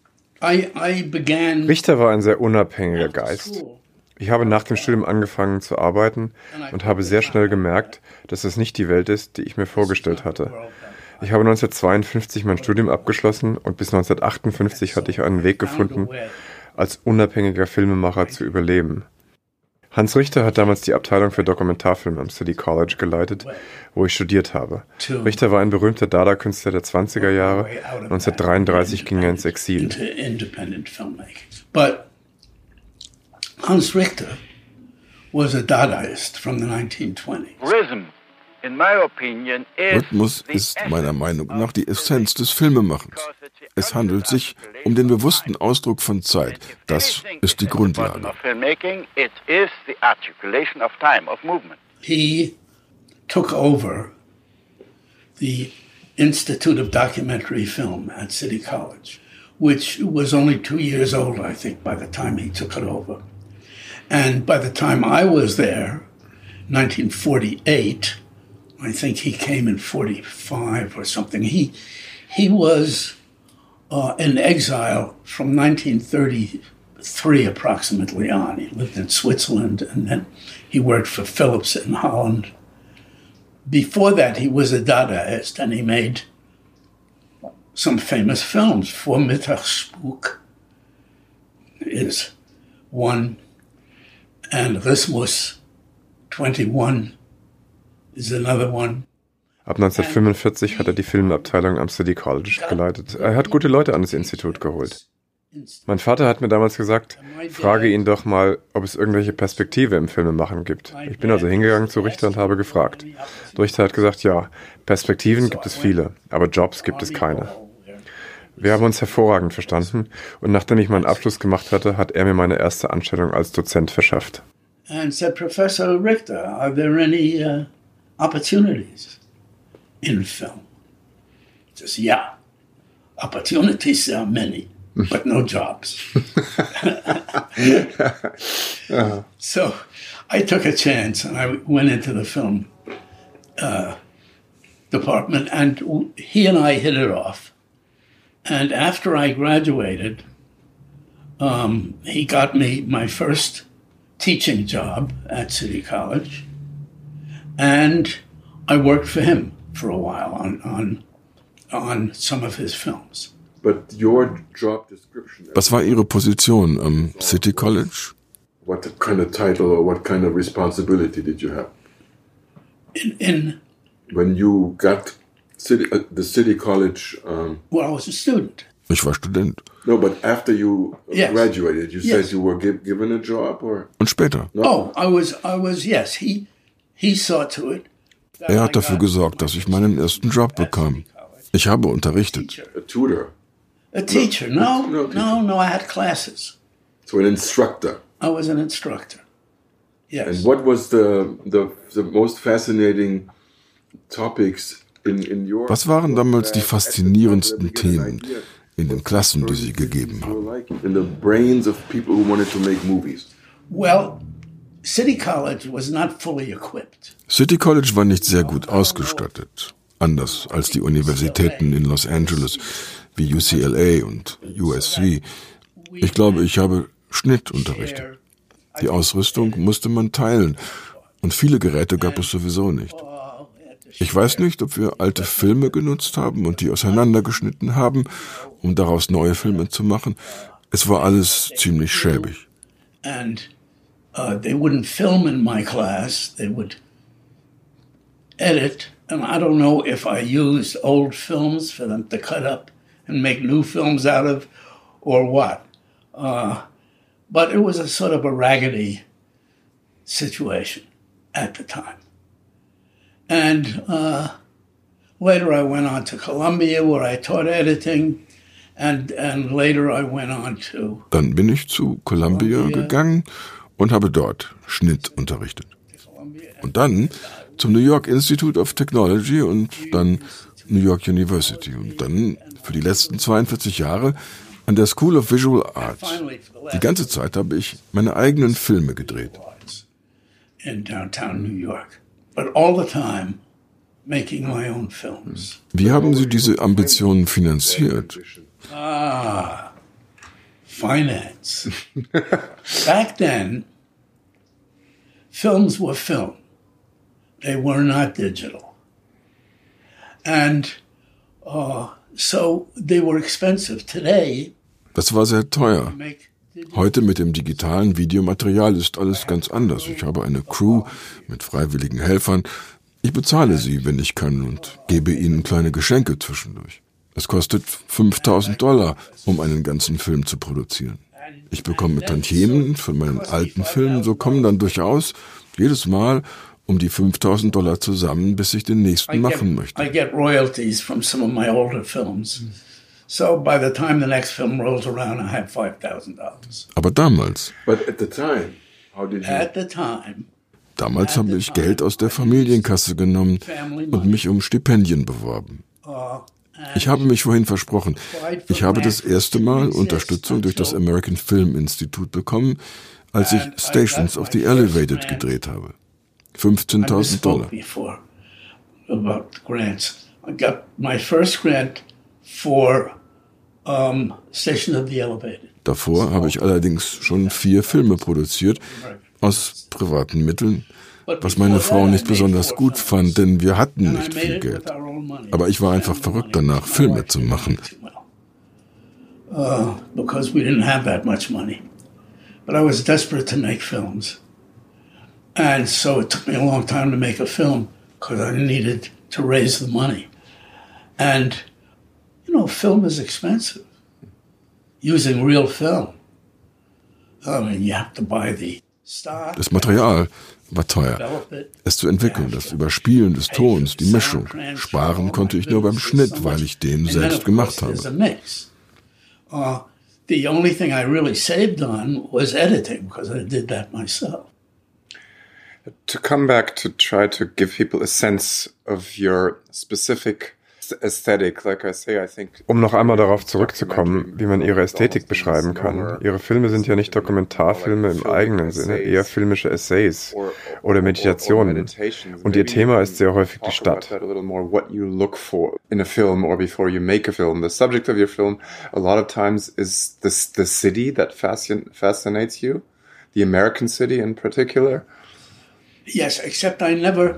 Richter war ein sehr unabhängiger Geist. Ich habe nach dem Studium angefangen zu arbeiten und habe sehr schnell gemerkt, dass es nicht die Welt ist, die ich mir vorgestellt hatte. Ich habe 1952 mein Studium abgeschlossen und bis 1958 hatte ich einen Weg gefunden, als unabhängiger Filmemacher zu überleben. Hans Richter hat damals die Abteilung für Dokumentarfilme am City College geleitet, wo ich studiert habe. Richter war ein berühmter Dada-Künstler der 20er Jahre. 1933 ging er ins Exil. But Hans Richter was a Dadaist from the 1920s. Rhythmus ist meiner Meinung nach die Essenz des Filmemachens. Es handelt sich um den bewussten Ausdruck von Zeit. Das ist die Grundlage. He took over the Institute of Documentary Film at City College, which was only 2 years old, I think, by the time he took it over. And by the time I was there, 1948, I think he came in 45 or something. He was in exile from 1933 approximately on. He lived in Switzerland and then he worked for Philips in Holland. Before that, he was a Dadaist and he made some famous films. Vormittagsspuk is one, and Rhythmus 21 is another one. Ab 1945 hat er die Filmabteilung am City College geleitet. Er hat gute Leute an das Institut geholt. Mein Vater hat mir damals gesagt, frage ihn doch mal, ob es irgendwelche Perspektive im Filmemachen gibt. Ich bin also hingegangen zu Richter und habe gefragt. Richter hat gesagt, ja, Perspektiven gibt es viele, aber Jobs gibt es keine. Wir haben uns hervorragend verstanden und nachdem ich meinen Abschluss gemacht hatte, hat er mir meine erste Anstellung als Dozent verschafft. And said, Professor Richter, are there any opportunities in film? He says, yeah, opportunities there are many, but no jobs. So I took a chance and I went into the film department and he and I hit it off. And after I graduated, he got me my first teaching job at City College, and I worked for him for a while on some of his films. But your job description. Was war Ihre Position am City College? What kind of title or what kind of responsibility did you have? In when you got the City College. Well, I was a student. Ich war Student. No, but after you Yes. graduated, you Yes. said you were given a job, or Und später. Oh, I was. Yes, he saw to it. Er hat dafür gesorgt, dass ich meinen ersten Job bekam. Ich habe unterrichtet. a tutor. A teacher? No, No teacher. no. I had classes. So an instructor. I was an instructor. Yes. And what was the most fascinating topics in your? Was waren damals die faszinierendsten Themen in den Klassen, die Sie gegeben haben? In the brains of people who wanted to make movies. Well, City College was not fully equipped. City College war nicht sehr gut ausgestattet, anders als die Universitäten in Los Angeles wie UCLA und USC. Ich glaube, ich habe Schnitt unterrichtet. Die Ausrüstung musste man teilen und viele Geräte gab es sowieso nicht. Ich weiß nicht, ob wir alte Filme genutzt haben und die auseinandergeschnitten haben, um daraus neue Filme zu machen. Es war alles ziemlich schäbig. And they wouldn't film in my class. They would edit. And I don't know if I used old films for them to cut up and make new films out of or what. But it was a sort of a raggedy situation at the time. And later I went on to Columbia where I taught editing. And later I went on to... Dann bin ich zu Columbia gegangen und habe dort Schnitt unterrichtet. Und dann zum New York Institute of Technology und dann New York University. Und dann für die letzten 42 Jahre an der School of Visual Arts. Die ganze Zeit habe ich meine eigenen Filme gedreht. In downtown New York. But all the time making my own films. Wie haben Sie diese Ambitionen finanziert? Finance. Back then, films were film. They were not digital. And so they were expensive. Today, das war sehr teuer. Heute mit dem digitalen Videomaterial ist alles ganz anders. Ich habe eine Crew mit freiwilligen Helfern. Ich bezahle sie, wenn ich kann, und gebe ihnen kleine Geschenke zwischendurch. Es kostet $5.000, um einen ganzen Film zu produzieren. Ich bekomme Tantiemen von meinen alten Filmen, so kommen dann durchaus jedes Mal um die $5.000 zusammen, bis ich den nächsten machen möchte. I get royalties from some of my older films. So by the time the next film rolls around, I have $5,000. Aber damals. But at the time, how did you? At the time. Damals habe ich Geld aus der Familienkasse genommen und mich um Stipendien beworben. Ich habe mich vorhin versprochen. Ich habe das erste Mal Unterstützung durch das American Film Institute bekommen, als ich Stations of the Elevated gedreht habe. $15.000. About grants. I got my first grant for Station of the Elevated. Davor habe ich allerdings schon 4 Filme produziert, aus privaten Mitteln, was meine Frau nicht besonders gut fand, denn wir hatten nicht viel Geld. Aber ich war einfach verrückt danach, Filme zu machen. Because we didn't have that much money. But I was desperate to make films. And so it took me a long time to make a film because I needed to raise the money. And, film is expensive. Using real film. I mean, you have to buy the stock. Das Material war teuer. Es zu entwickeln, das Überspielen des Tons, die Mischung. Sparen konnte ich nur beim Schnitt, weil ich den selbst gemacht habe. The only thing I really saved on was editing because I did that myself. To come back to try to give people a sense of your specific aesthetic, like I say, I think. Um noch einmal darauf zurückzukommen, wie man ihre Ästhetik beschreiben kann. Ihre Filme sind ja nicht Dokumentarfilme im eigenen Sinne, eher filmische Essays oder Meditationen. Und ihr Thema ist sehr häufig die Stadt. What you look for in a film or before you make a film. The subject of your film a lot of times is the city that fascinates you, the American city in particular. Yes, except I never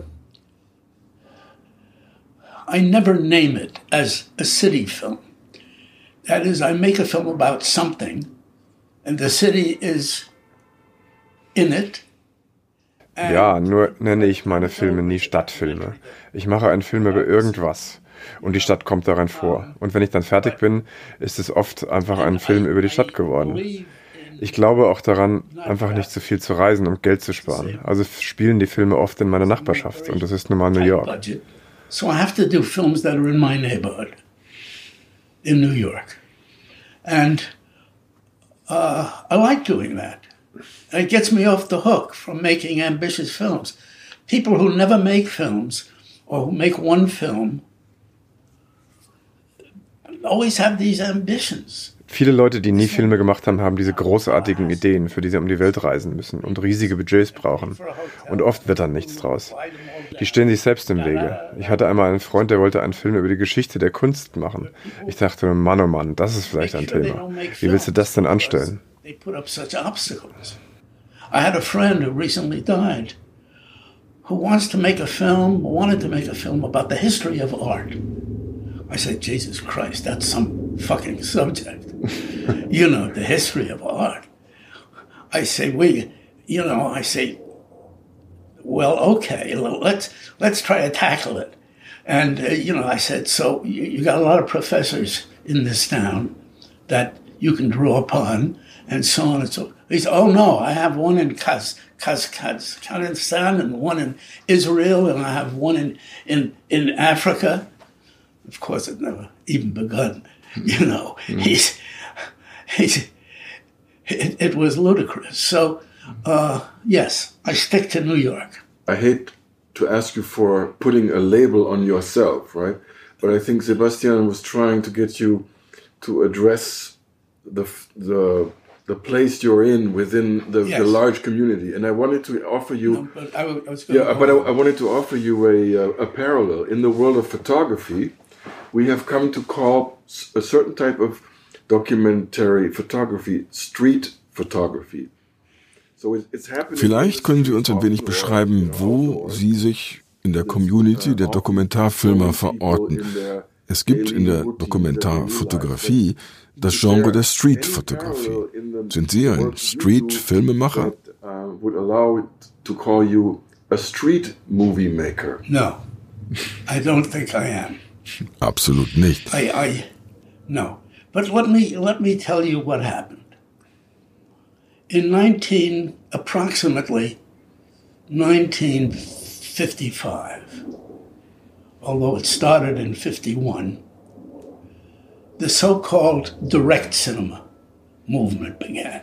name it as a city film. That is, I make a film about something, and the city is in it. Ja, nur nenne ich meine Filme nie Stadtfilme. Ich mache einen Film über irgendwas und die Stadt kommt darin vor. Und wenn ich dann fertig bin, ist es oft einfach ein Film über die Stadt geworden. Ich glaube auch daran, einfach nicht zu viel zu reisen, um Geld zu sparen. Also spielen die Filme oft in meiner Nachbarschaft und das ist nun mal New York. So I have to do films that are in my neighborhood in New York. And I like doing that. It gets me off the hook from making ambitious films. People who never make films or who make one film always have these ambitions. Viele Leute, die nie Filme gemacht haben, haben diese großartigen Ideen, für die sie um die Welt reisen müssen und riesige Budgets brauchen. Und oft wird dann nichts draus. Die stehen sich selbst im Wege. Ich hatte einmal einen Freund, der wollte einen Film über die Geschichte der Kunst machen. Ich dachte, Mann, oh Mann, das ist vielleicht ein Thema. Wie willst du das denn anstellen? I had a friend who recently died who wanted to make a film about the history of art. I said, Jesus Christ, that's some fucking subject. You know, the history of art. I say, well, okay, let's try to tackle it. And, I said, so you got a lot of professors in this town that you can draw upon and so on and so on. He said, oh no, I have one in Kazakhstan and one in Israel and I have one in Africa. Of course, it never even begun, It was ludicrous. So, yes, I stick to New York. I hate to ask you for putting a label on yourself, right? But I think Sebastian was trying to get you to address the place you're in within the large community, and I wanted to offer you. No, but I wanted to offer you a parallel in the world of photography. We have come to call a certain type of documentary photography street photography. Vielleicht können Sie uns ein wenig beschreiben, wo Sie sich in der Community der Dokumentarfilmer verorten. Es gibt in der Dokumentarfotografie das Genre der Street-Fotografie. Sind Sie ein Street-Filmemacher? Would allow it to call you a street movie maker. No, I don't think I am. Absolut nicht. No. But let me tell you what happened. In approximately 1955, although it started in 51, the so-called direct cinema movement began.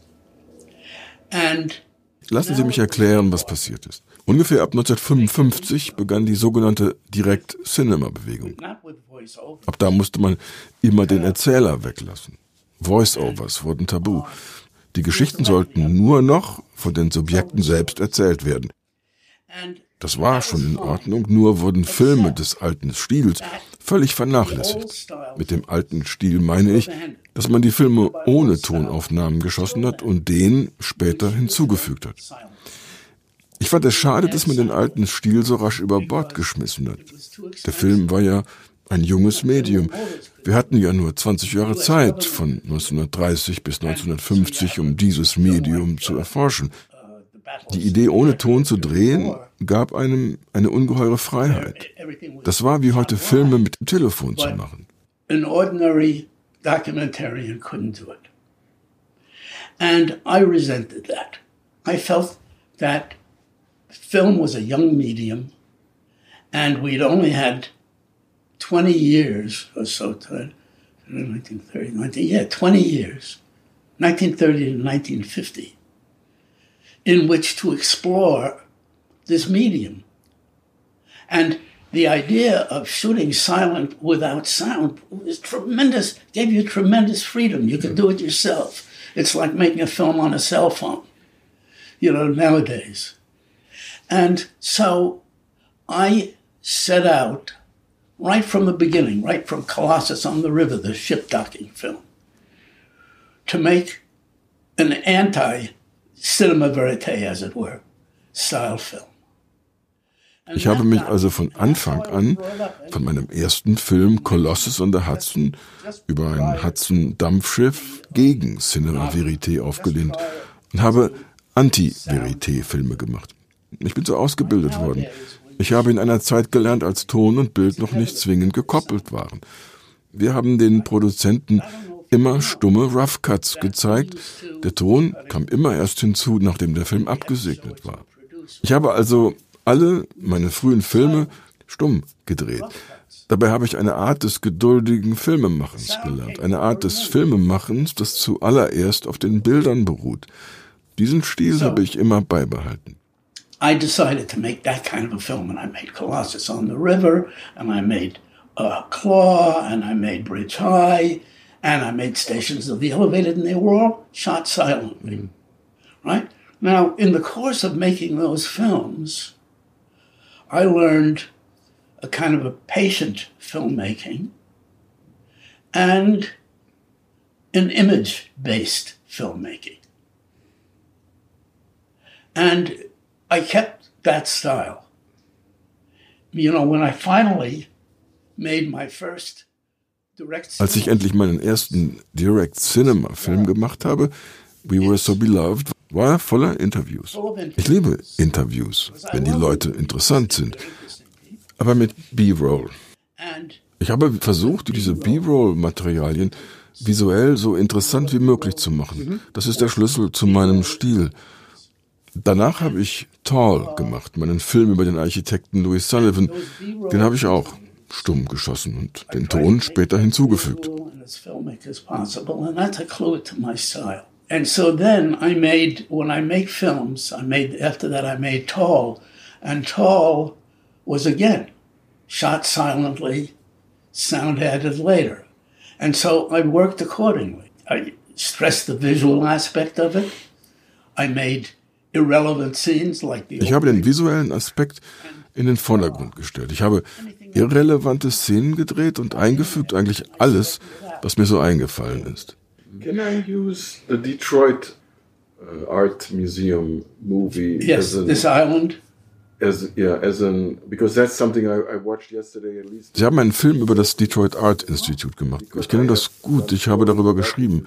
And lassen Sie mich erklären, was passiert ist. Ungefähr ab 1955 begann die sogenannte Direct-Cinema-Bewegung. Ab da musste man immer den Erzähler weglassen. Voice-Overs wurden tabu. Die Geschichten sollten nur noch von den Subjekten selbst erzählt werden. Das war schon in Ordnung, nur wurden Filme des alten Stils völlig vernachlässigt. Mit dem alten Stil meine ich, dass man die Filme ohne Tonaufnahmen geschossen hat und den später hinzugefügt hat. Ich fand es schade, dass man den alten Stil so rasch über Bord geschmissen hat. Der Film war ja ein junges Medium. Wir hatten ja nur 20 Jahre Zeit, von 1930 bis 1950, um dieses Medium zu erforschen. Die Idee, ohne Ton zu drehen, gab einem eine ungeheure Freiheit. Das war wie heute Filme mit dem Telefon zu machen. An ordinary documentarian couldn't do it. And I resented that. I felt that film was a young medium and we'd only had 20 years or so, 20 years, 1930 to 1950, in which to explore this medium. And the idea of shooting silent without sound was tremendous, gave you tremendous freedom. You could do it yourself. It's like making a film on a cell phone, nowadays. And so I set out right from the beginning, right from Colossus on the River, the ship docking film, to make an anti-cinema verite, as it were, style film. Ich habe mich also von Anfang an, von meinem ersten Film Colossus on the Hudson, über ein Hudson-Dampfschiff gegen Cinema Verite aufgelehnt und habe Anti-Verite-Filme gemacht. Ich bin so ausgebildet worden. Ich habe in einer Zeit gelernt, als Ton und Bild noch nicht zwingend gekoppelt waren. Wir haben den Produzenten immer stumme Rough Cuts gezeigt. Der Ton kam immer erst hinzu, nachdem der Film abgesegnet war. Ich habe also alle meine frühen Filme stumm gedreht. Dabei habe ich eine Art des geduldigen Filmemachens gelernt. Eine Art des Filmemachens, das zuallererst auf den Bildern beruht. Diesen Stil habe ich immer beibehalten. I decided to make that kind of a film, and I made Colossus on the River, and I made Claw, and I made Bridge High, and I made Stations of the Elevated, and they were all shot silently, right? Now, in the course of making those films, I learned a kind of a patient filmmaking and an image-based filmmaking. And I kept that style. You know, when I finally made my first direct cinema. Als ich endlich meinen ersten Direct-Cinema-Film gemacht habe, We Were So Beloved, war er voller Interviews. Ich liebe Interviews, wenn die Leute interessant sind. Aber mit B-Roll. Ich habe versucht, diese B-Roll-Materialien visuell so interessant wie möglich zu machen. Das ist der Schlüssel zu meinem Stil. Danach habe ich Tall gemacht, meinen Film über den Architekten Louis Sullivan. Den habe ich auch stumm geschossen und den Ton später hinzugefügt. And so then when I make films, after that I made Tall, and Tall was again shot silently, sound added later. And so I worked accordingly. I stressed the visual aspect of it. I made irrelevant scenes like the Ich habe den visuellen Aspekt in den Vordergrund gestellt. Ich habe irrelevante Szenen gedreht und eingefügt eigentlich alles, was mir so eingefallen ist. Can I use the Detroit Art Museum movie? Yes, This Island. Because that's something I watched yesterday at least. Sie haben einen Film über das Detroit Art Institute gemacht. Ich kenne das gut. Ich habe darüber geschrieben.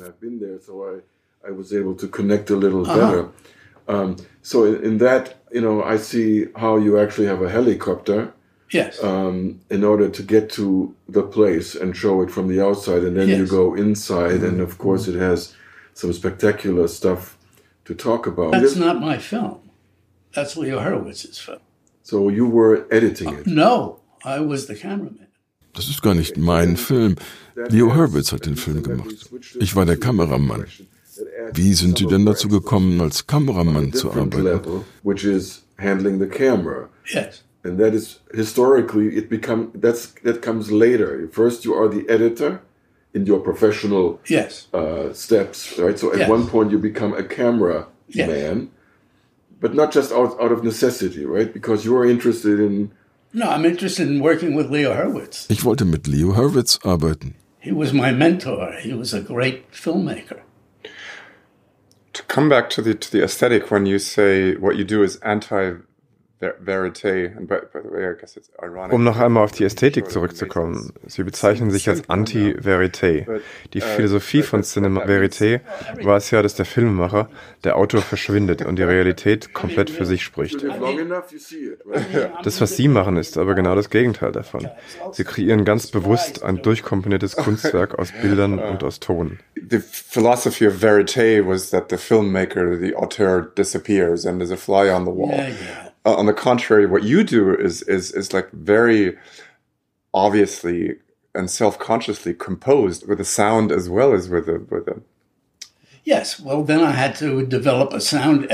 I was able to connect a little better. So in that, I see how you actually have a helicopter. Yes. In order to get to the place and show it from the outside, and then you go inside, and of course it has some spectacular stuff to talk about. That's not my film. That's Leo Hurwitz's film. So you were editing it? No, I was the cameraman. Das ist gar nicht mein Film. Leo Hurwitz hat den Film gemacht. Ich war der Kameramann. Wie sind Sie denn dazu gekommen, als Kameramann zu arbeiten? Which is handling the camera. Yes. And that is historically that comes later. First, you are the editor in your professional steps, right? So at one point you become a camera man, but not just out of necessity, right? Because you are interested in. No, I'm interested in working with Leo Hurwitz. Ich wollte mit Leo Hurwitz arbeiten. He was my mentor. He was a great filmmaker. To come back to the aesthetic, when you say what you do is Verité. Um noch einmal auf die Ästhetik zurückzukommen. Sie bezeichnen sich als Anti-Verité. Die Philosophie von Cinema Verité war es ja, dass der Filmemacher, der Autor verschwindet und die Realität komplett für sich spricht. Das, was Sie machen, ist aber genau das Gegenteil davon. Sie kreieren ganz bewusst ein durchkomponiertes Kunstwerk aus Bildern und aus Ton. The philosophy of Verité was that the filmmaker, the auteur, disappears and is a fly on the wall. On the contrary, what you do is like very obviously and self-consciously composed with a sound as well as with a. Yes, well, then I had to develop a sound,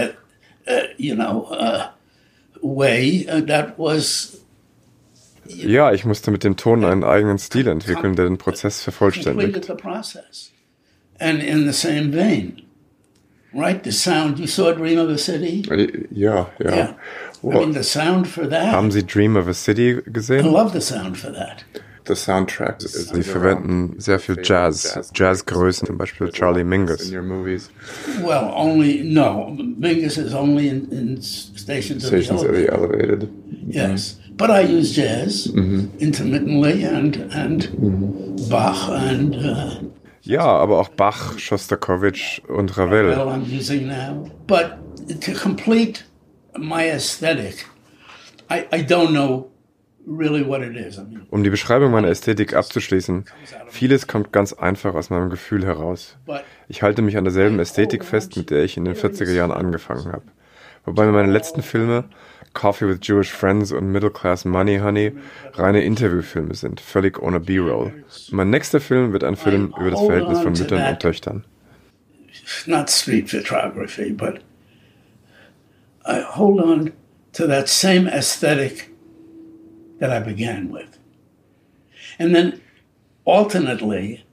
way that was. Ja, ich musste mit dem Ton einen eigenen Stil entwickeln, der den Prozess vervollständigt. And in the same vein, right? The sound. You saw Dream of a City? Yeah. Well, I mean, the sound for that. Haben Sie Dream of a City gesehen? I love the sound for that. The soundtrack. Sie verwenden sehr viel Jazzgrößen, zum Beispiel Charlie Mingus. In your movies? Well, Mingus is only in Stations of the Elevated. Yes, but I use jazz intermittently and Bach and. Ja, aber auch Bach, Schostakowitsch und Ravel. I'm using now, but to complete my aesthetic, I don't know really what it is. I mean, Um die Beschreibung meiner Ästhetik abzuschließen, vieles kommt ganz einfach aus meinem Gefühl heraus. Ich halte mich an derselben Ästhetik fest, mit der ich in den 40er Jahren angefangen habe. Wobei meine letzten Filme, Coffee with Jewish Friends und Middle Class Money Honey, reine Interviewfilme sind, völlig ohne B-Roll. Mein nächster Film wird ein Film über das Verhältnis von Müttern und Töchtern. Not street photography, but I hold on to that same aesthetic that I began with. And then alternately,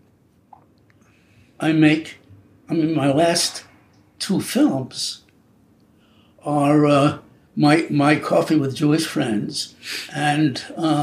my last two films are my Coffee with Jewish Friends and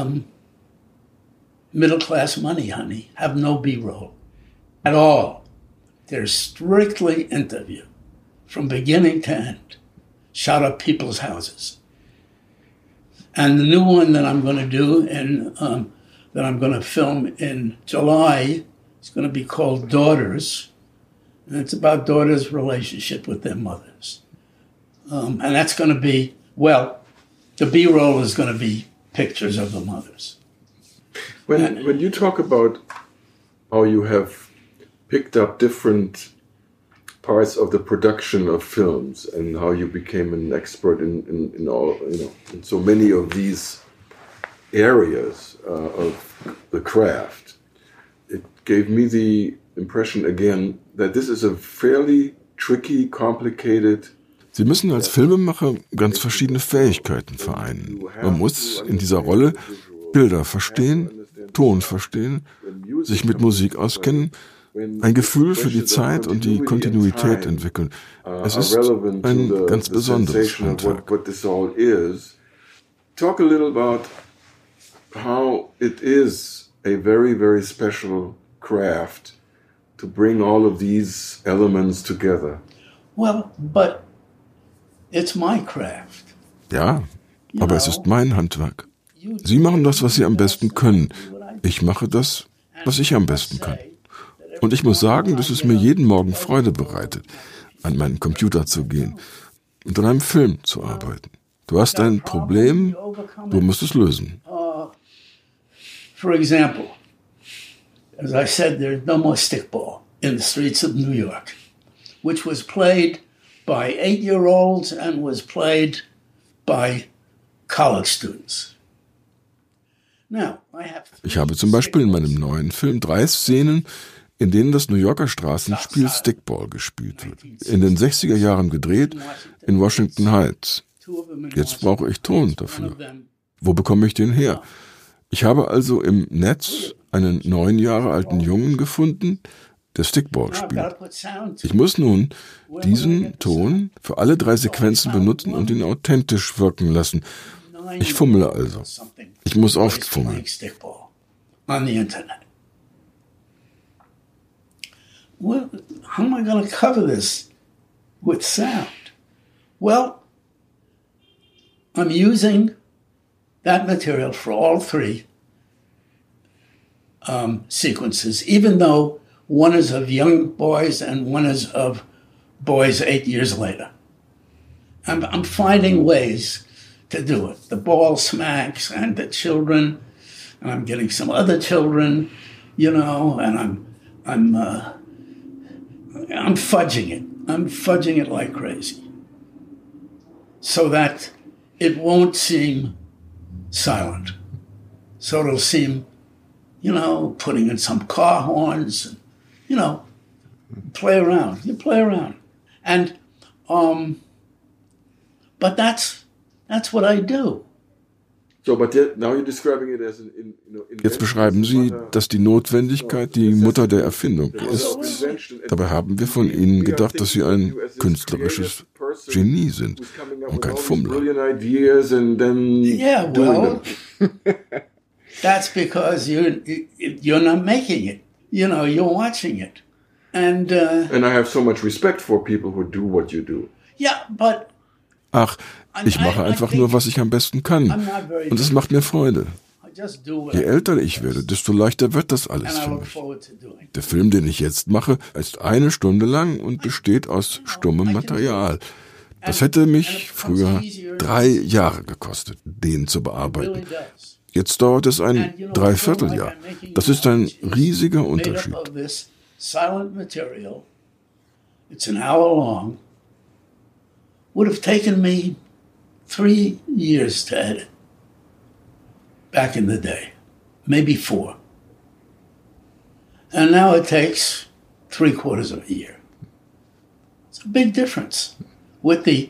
Middle Class Money Honey have no B-roll at all. They're strictly interview from beginning to end, shot at people's houses. And the new one that I'm going to do that I'm going to film in July is going to be called Daughters. And it's about daughters' relationship with their mothers. And that's going to be, the B-roll is going to be pictures of the mothers. When you talk about how you have picked up different parts of the production of films and how you became an expert in all, in so many of these areas of the craft, it gave me the impression again that this is a fairly tricky, complicated. Sie müssen als Filmemacher ganz verschiedene Fähigkeiten vereinen. Man muss in dieser Rolle Bilder verstehen, Ton verstehen, sich mit Musik auskennen, ein Gefühl für die Zeit und die Kontinuität entwickeln. Es ist ein ganz besonderes Handwerk. Talk a little about how it is a very, very special craft to bring all of these elements together. Well, but it's my craft. Ja, aber es ist mein Handwerk. Sie machen das, was Sie am besten können. Ich mache das, was ich am besten kann. Und ich muss sagen, dass es mir jeden Morgen Freude bereitet, an meinen Computer zu gehen und an einem Film zu arbeiten. Du hast ein Problem, du musst es lösen. For example, as I said, there's no more stickball in the streets of New York, which was played by 8-year-olds and was played by college students. Ich habe zum Beispiel in meinem neuen Film 3 Szenen, in denen das New Yorker Straßenspiel Stickball gespielt wird. In den 60er Jahren gedreht, in Washington Heights. Jetzt brauche ich Ton dafür. Wo bekomme ich den her? Ich habe also im Netz einen 9 Jahre alten Jungen gefunden, der Stickball spielt. Ich muss nun diesen Ton für alle 3 Sequenzen benutzen und ihn authentisch wirken lassen. Ich fummle also. Ich muss oft fummeln. Well, how am I going to cover this with sound? Well, I'm using that material for all 3 sequences, even though one is of young boys and one is of boys 8 years later. I'm finding ways to do it. The ball smacks and the children, and I'm getting some other children, and I'm fudging it. I'm fudging it like crazy. So that it won't seem silent. So it'll seem, putting in some car horns, play around. You play around. And, but that's what I do. Jetzt beschreiben Sie, dass die Notwendigkeit die Mutter der Erfindung ist. Dabei haben wir von Ihnen gedacht, dass Sie ein künstlerisches Genie sind und kein Fummler. Yeah, well, that's because you're not making it. You're watching it. And I have so much respect for people who do what you do. Yeah, but Ach, ich mache einfach nur, was ich am besten kann. Und es macht mir Freude. Je älter ich werde, desto leichter wird das alles für mich. Der Film, den ich jetzt mache, ist 1 Stunde lang und besteht aus stummem Material. Das hätte mich früher 3 Jahre gekostet, den zu bearbeiten. Jetzt dauert es ein Dreivierteljahr. Das ist ein riesiger Unterschied. It's an hour long. Would have taken me 3 years to edit. Back in the day. Maybe 4. And now it takes 3/4 of a year. It's a big difference with the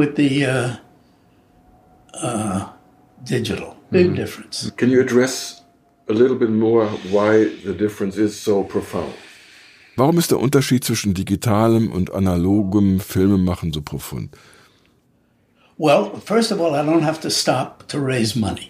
digital. Big difference. Can you address a little bit more why the difference is so profound? Warum ist der Unterschied zwischen digitalem und analogem Filmemachen so profund? Well, first of all, I don't have to stop to raise money.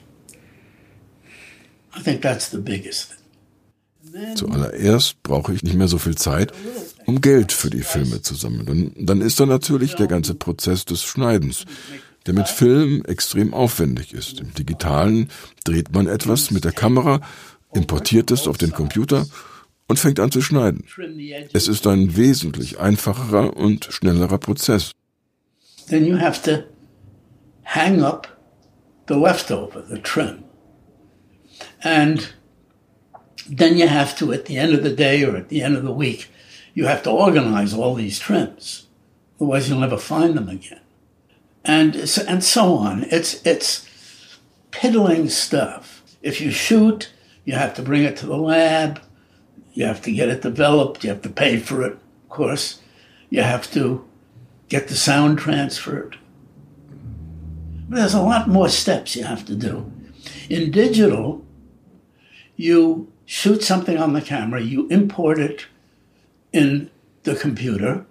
I think that's the biggest thing. Zuallererst brauche ich nicht mehr so viel Zeit, um Geld für die Filme zu sammeln. Und dann ist da natürlich der ganze Prozess des Schneidens, der mit Film extrem aufwendig ist. Im Digitalen dreht man etwas mit der Kamera, importiert es auf den Computer und fängt an zu schneiden. Es ist ein wesentlich einfacherer und schnellerer Prozess. Then you have to hang up the leftover, the trim. And then you have to, at the end of the day or at the end of the week, you have to organize all these trims. Otherwise you'll never find them again. And so on. It's piddling stuff. If you shoot, you have to bring it to the lab. You have to get it developed. You have to pay for it, of course. You have to get the sound transferred. But there's a lot more steps you have to do. In digital, you shoot something on the camera, you import it in the computer,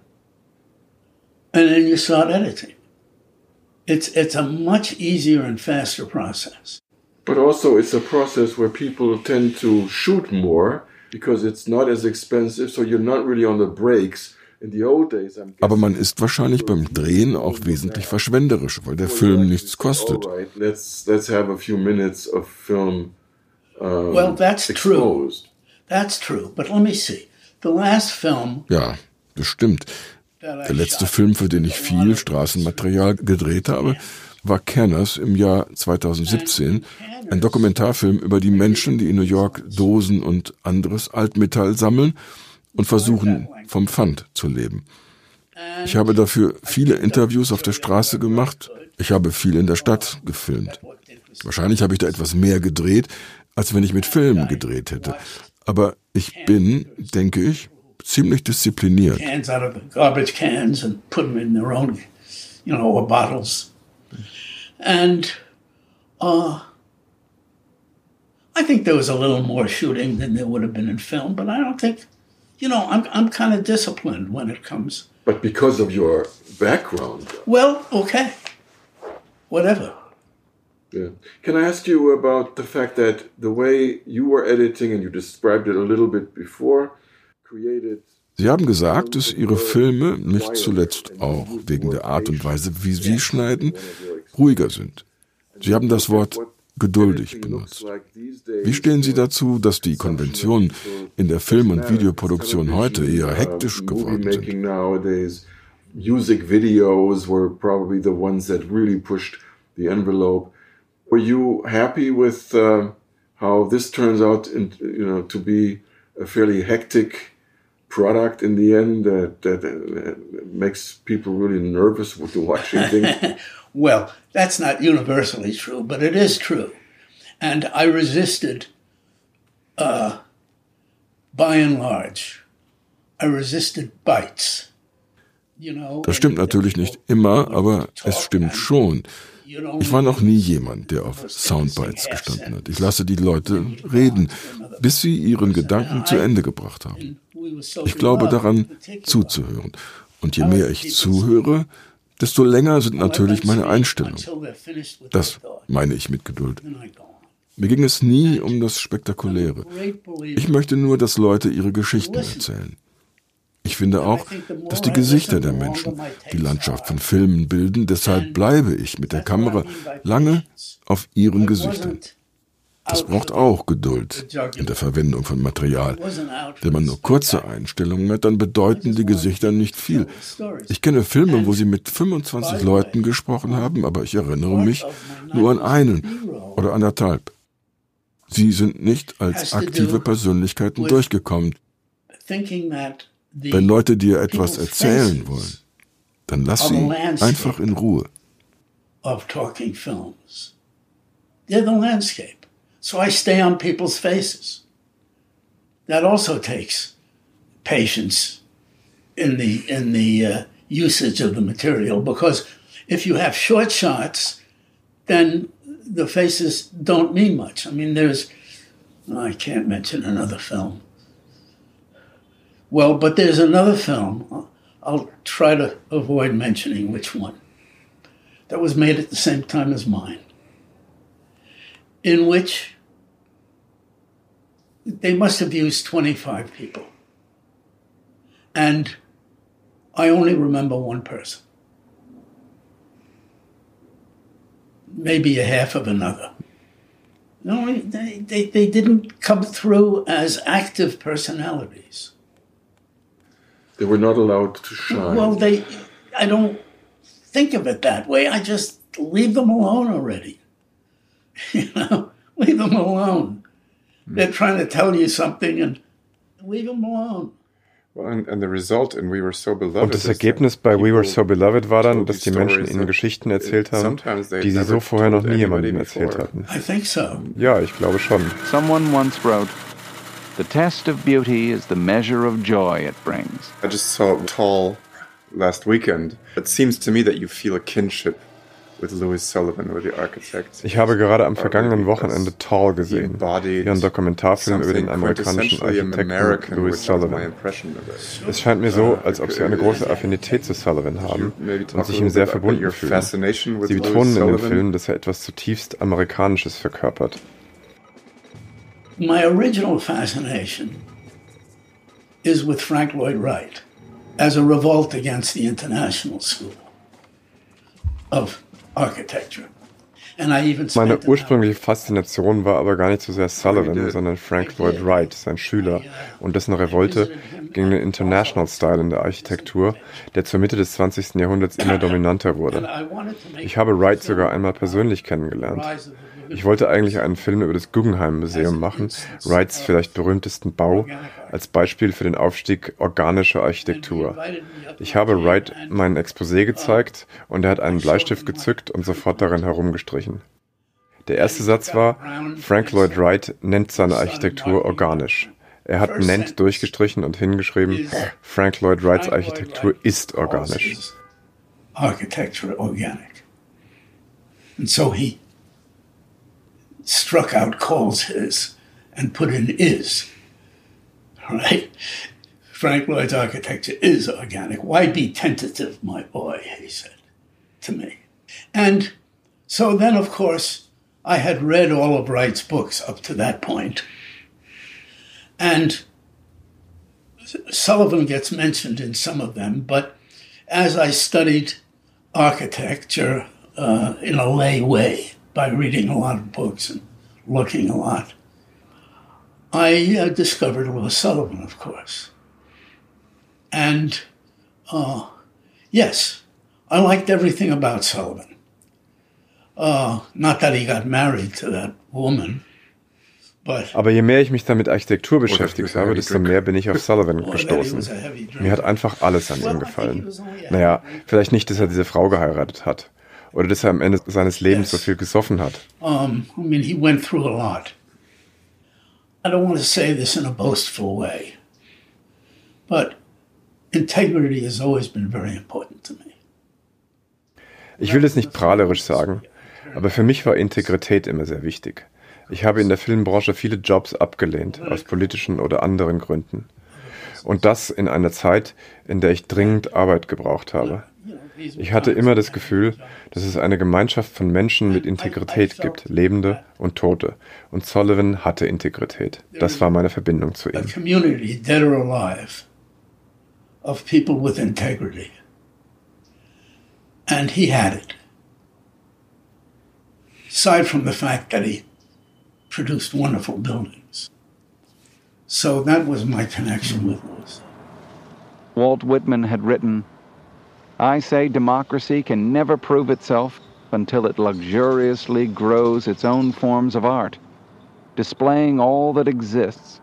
and then you start editing. It's a much easier and faster process. But also it's a process where people tend to shoot more because it's not as expensive, so you're not really on the breaks. In the old days, aber man ist wahrscheinlich beim Drehen auch wesentlich verschwenderisch, weil der Film nichts kostet. Let's have a few minutes of film well, that's exposed. True. That's true. But let me see. The last film. Ja, das stimmt. Der letzte Film, für den ich viel Straßenmaterial gedreht habe, war Canners im Jahr 2017, ein Dokumentarfilm über die Menschen, die in New York Dosen und anderes Altmetall sammeln und versuchen, vom Pfand zu leben. Ich habe dafür viele Interviews auf der Straße gemacht. Ich habe viel in der Stadt gefilmt. Wahrscheinlich habe ich da etwas mehr gedreht, als wenn ich mit Filmen gedreht hätte. Aber ich bin, denke ich, ziemlich diszipliniert. Cans out of the garbage cans and put them in their own, or bottles. And I think there was a little more shooting than there would have been in film, but I don't think, I'm kind of disciplined when it comes. But because of your background. Well, okay. Whatever. Yeah. Can I ask you about the fact that the way you were editing, and you described it a little bit before, created... Sie haben gesagt, dass Ihre Filme, nicht zuletzt auch wegen der Art und Weise, wie Sie schneiden, ruhiger sind. Sie haben das Wort geduldig benutzt. Wie stehen Sie dazu, dass die Konventionen in der Film- und Videoproduktion heute eher hektisch geworden sind? Music videos were probably the ones that really pushed the envelope. Were you happy with how this turns out, to be a fairly hectic product in the end that makes people really nervous with watching things? Well, that's not universally true, but it is true. And I resisted, by and large, I resisted bites. Das stimmt natürlich nicht immer, aber es stimmt schon. Ich war noch nie jemand, der auf Soundbites gestanden hat. Ich lasse die Leute reden, bis sie ihren Gedanken zu Ende gebracht haben. Ich glaube daran, zuzuhören. Und je mehr ich zuhöre, desto länger sind natürlich meine Einstellungen. Das meine ich mit Geduld. Mir ging es nie um das Spektakuläre. Ich möchte nur, dass Leute ihre Geschichten erzählen. Ich finde auch, dass die Gesichter der Menschen die Landschaft von Filmen bilden. Deshalb bleibe ich mit der Kamera lange auf ihren Gesichtern. Das braucht auch Geduld in der Verwendung von Material. Wenn man nur kurze Einstellungen hat, dann bedeuten die Gesichter nicht viel. Ich kenne Filme, wo sie mit 25 Leuten gesprochen haben, aber ich erinnere mich nur an einen oder anderthalb. Sie sind nicht als aktive Persönlichkeiten durchgekommen. Wenn Leute dir etwas erzählen wollen, dann lass sie einfach in Ruhe. They're the landscape. So I stay on people's faces. That also takes patience in the usage of the material, because if you have short shots, then the faces don't mean much. I mean, I can't mention another film. Well, but there's another film, I'll try to avoid mentioning which one, that was made at the same time as mine, in which they must have used 25 people. And I only remember one person. Maybe a half of another. No, they didn't come through as active personalities. They were not allowed to shine. Well, I don't think of it that way. I just leave them alone already. Leave them alone. They're trying to tell you something and leave them alone. And the result in We Were So Beloved. Und das Ergebnis bei We Were So Beloved war dann, dass die Menschen ihnen Geschichten erzählt haben, die sie so vorher noch nie jemandem erzählt hatten. I think so. Ja, ich glaube schon. Someone once wrote, "The test of beauty is the measure of joy it brings." I just saw Tall last weekend. It seems to me that you feel a kinship with Louis Sullivan, with the architect. Ich habe gerade am vergangenen Wochenende Tall gesehen, ihren Dokumentarfilm über den amerikanischen Architekten Louis Sullivan. Es scheint mir so, als ob sie eine große Affinität zu Sullivan haben und sich ihm sehr verbunden fühlen. Sie betonen in dem Film, dass er etwas zutiefst Amerikanisches verkörpert. My original fascination is with Frank Lloyd Wright as a revolt against the international school of architecture. Meine ursprüngliche Faszination war aber gar nicht so sehr Sullivan, sondern Frank Lloyd Wright, sein Schüler, und dessen Revolte gegen den International Style in der Architektur, der zur Mitte des 20. Jahrhunderts immer dominanter wurde. Ich habe Wright sogar einmal persönlich kennengelernt. Ich wollte eigentlich einen Film über das Guggenheim Museum machen, Wrights vielleicht berühmtesten Bau, als Beispiel für den Aufstieg organischer Architektur. Ich habe Wright mein Exposé gezeigt und er hat einen Bleistift gezückt und sofort darin herumgestrichen. Der erste Satz war, Frank Lloyd Wright nennt seine Architektur organisch. Er hat nennt durchgestrichen und hingeschrieben, Frank Lloyd Wrights Architektur ist organisch. Architecture organic. And so he struck out calls his and put in is. Right? Frank Lloyd's architecture is organic. Why be tentative, my boy, he said to me. And so then, of course, I had read all of Wright's books up to that point. And Sullivan gets mentioned in some of them, but as I studied architecture in a lay way, by reading a lot of books and looking a lot, I discovered Louis Sullivan, of course. And yes, I liked everything about Sullivan. Not that he got married to that woman. Aber je mehr ich mich dann mit Architektur beschäftigt habe, desto mehr bin ich auf Sullivan gestoßen. Mir hat einfach alles an ihm gefallen. Naja, vielleicht nicht, dass er diese Frau geheiratet hat. Oder dass er am Ende seines Lebens so viel gesoffen hat. I mean, he went through a lot. I don't want to say this in a boastful way, but integrity has always been very important to me. Ich will das nicht prahlerisch sagen, aber für mich war Integrität immer sehr wichtig. Ich habe in der Filmbranche viele Jobs abgelehnt, aus politischen oder anderen Gründen. Und das in einer Zeit, in der ich dringend Arbeit gebraucht habe. Ich hatte immer das Gefühl, dass es eine Gemeinschaft von Menschen mit Integrität gibt, Lebende und Tote. Und Sullivan hatte Integrität. Das war meine Verbindung zu ihm. A community, dead or alive, of people with integrity. And he had it. Aside from the fact that he produced wonderful buildings. So that was my connection with those. Walt Whitman had written, "I say democracy can never prove itself until it luxuriously grows its own forms of art, displaying all that exists."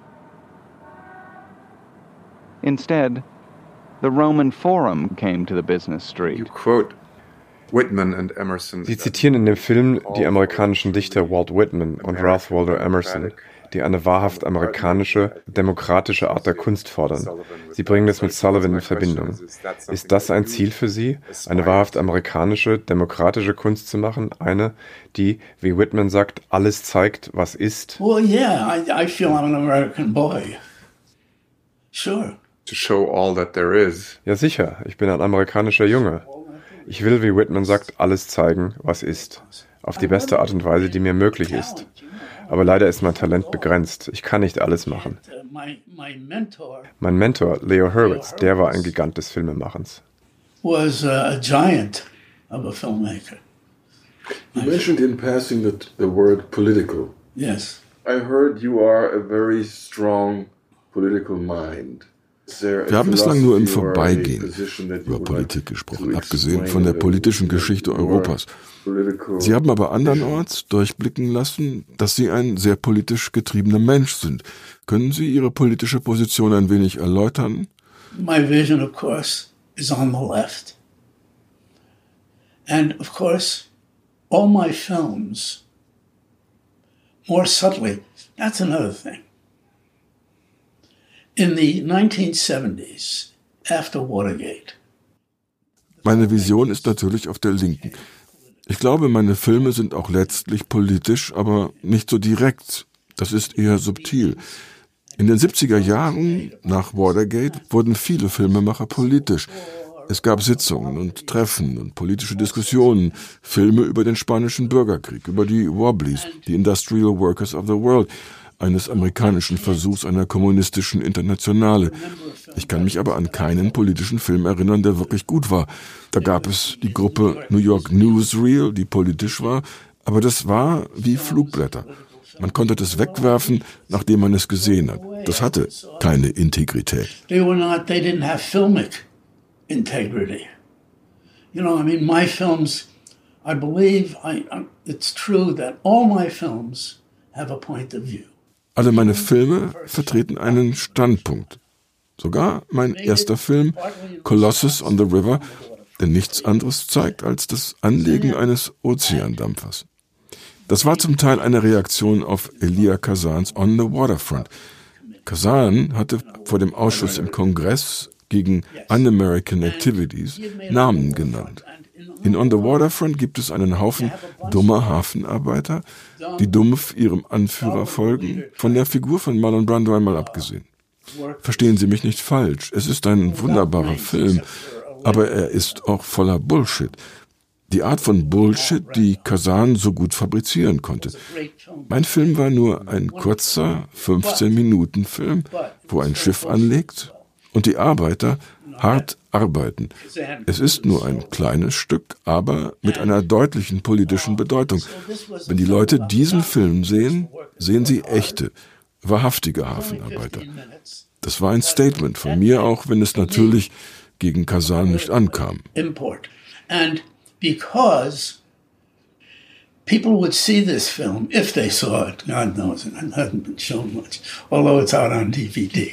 Instead, the Roman Forum came to the business street. You quote Whitman and Emerson. Sie zitieren in dem Film die amerikanischen Dichter Walt Whitman und Ralph Waldo Emerson, die eine wahrhaft amerikanische, demokratische Art der Kunst fordern. Sie bringen das mit Sullivan in Verbindung. Ist das ein Ziel für Sie, eine wahrhaft amerikanische, demokratische Kunst zu machen? Eine, die, wie Whitman sagt, alles zeigt, was ist? Well, yeah, I feel I'm an American boy. Sure. To show all that there is. Ja, sicher. Ich bin ein amerikanischer Junge. Ich will, wie Whitman sagt, alles zeigen, was ist. Auf die beste Art und Weise, die mir möglich ist. Aber leider ist mein Talent begrenzt. Ich kann nicht alles machen. Mein Mentor, Leo Hurwitz, der war ein Gigant des Filmemachens. Was a giant of a filmmaker. You mentioned in passing the word political. Yes. I heard you are a very strong political mind. Wir haben bislang nur im Vorbeigehen über Politik gesprochen, abgesehen von der politischen Geschichte Europas. Sie haben aber andernorts durchblicken lassen, dass Sie ein sehr politisch getriebener Mensch sind. Können Sie Ihre politische Position ein wenig erläutern? My vision, of course, is on the left. And, of course, all my films, more subtly, that's another thing. In the 1970s, after Watergate. Meine Vision ist natürlich auf der Linken. Ich glaube, meine Filme sind auch letztlich politisch, aber nicht so direkt. Das ist eher subtil. In den 70er Jahren, nach Watergate, wurden viele Filmemacher politisch. Es gab Sitzungen und Treffen und politische Diskussionen, Filme über den Spanischen Bürgerkrieg, über die Wobblies, die Industrial Workers of the World, eines amerikanischen Versuchs einer kommunistischen Internationale. Ich kann mich aber an keinen politischen Film erinnern, der wirklich gut war. Da gab es die Gruppe New York Newsreel, die politisch war, aber das war wie Flugblätter. Man konnte das wegwerfen, nachdem man es gesehen hat. Das hatte keine Integrität. They didn't have filmic integrity. You know, I mean, my films, I believe it's true that all my films have a point of view. Alle meine Filme vertreten einen Standpunkt. Sogar mein erster Film, Colossus on the River, der nichts anderes zeigt als das Anlegen eines Ozeandampfers. Das war zum Teil eine Reaktion auf Elia Kazans On the Waterfront. Kazan hatte vor dem Ausschuss im Kongress gegen Un-American Activities Namen genannt. In On the Waterfront gibt es einen Haufen dummer Hafenarbeiter, die dumpf ihrem Anführer folgen, von der Figur von Marlon Brando einmal abgesehen. Verstehen Sie mich nicht falsch, es ist ein wunderbarer Film, aber er ist auch voller Bullshit. Die Art von Bullshit, die Kazan so gut fabrizieren konnte. Mein Film war nur ein kurzer 15-Minuten-Film, wo ein Schiff anlegt und die Arbeiter hart arbeiten. Es ist nur ein kleines Stück, aber mit einer deutlichen politischen Bedeutung. Wenn die Leute diesen Film sehen, sehen sie echte, wahrhaftige Hafenarbeiter. Das war ein Statement von mir, auch wenn es natürlich gegen Kazan nicht ankam. And because people would see this film, if they saw it, God knows, it hasn't been shown much, although it's out on DVD.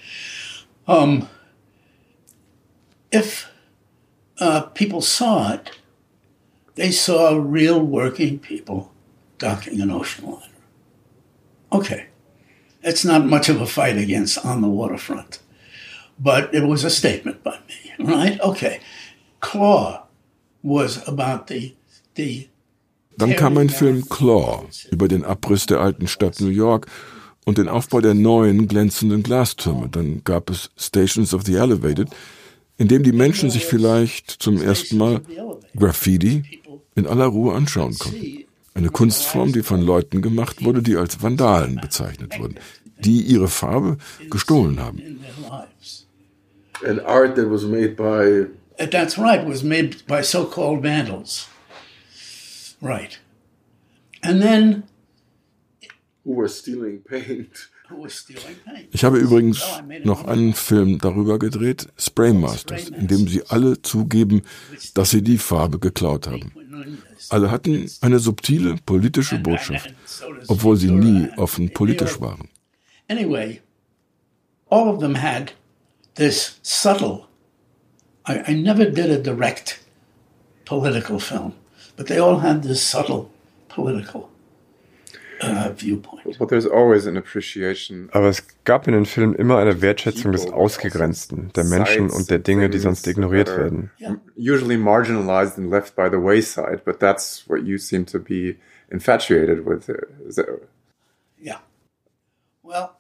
If people saw it, they saw real working people docking an ocean liner. Okay, it's not much of a fight against On the Waterfront, but it was a statement by me, right? Okay, Claw was about the Dann kam ein Film Claw über den Abriss der alten Stadt New York und den Aufbau der neuen glänzenden Glastürme. Dann gab es Stations of the Elevated, in dem die Menschen sich vielleicht zum ersten Mal Graffiti in aller Ruhe anschauen konnten. Eine Kunstform, die von Leuten gemacht wurde, die als Vandalen bezeichnet wurden, die ihre Farbe gestohlen haben. And art that was made by... That's right, was made by so-called vandals. Right. And then who were stealing paint. Ich habe übrigens noch einen Film darüber gedreht, Spraymasters, in dem sie alle zugeben, dass sie die Farbe geklaut haben. Alle hatten eine subtile politische Botschaft, obwohl sie nie offen politisch waren. Anyway, all of them had this subtle, I never did a direct political film, but they all had this subtle political viewpoint. But there's always an appreciation. Aber es gab in den Filmen immer eine Wertschätzung des Ausgegrenzten, der Menschen und der Dinge, die sonst ignoriert werden. Usually marginalized and left by the wayside, but that's what you seem to be infatuated with. Yeah. Well,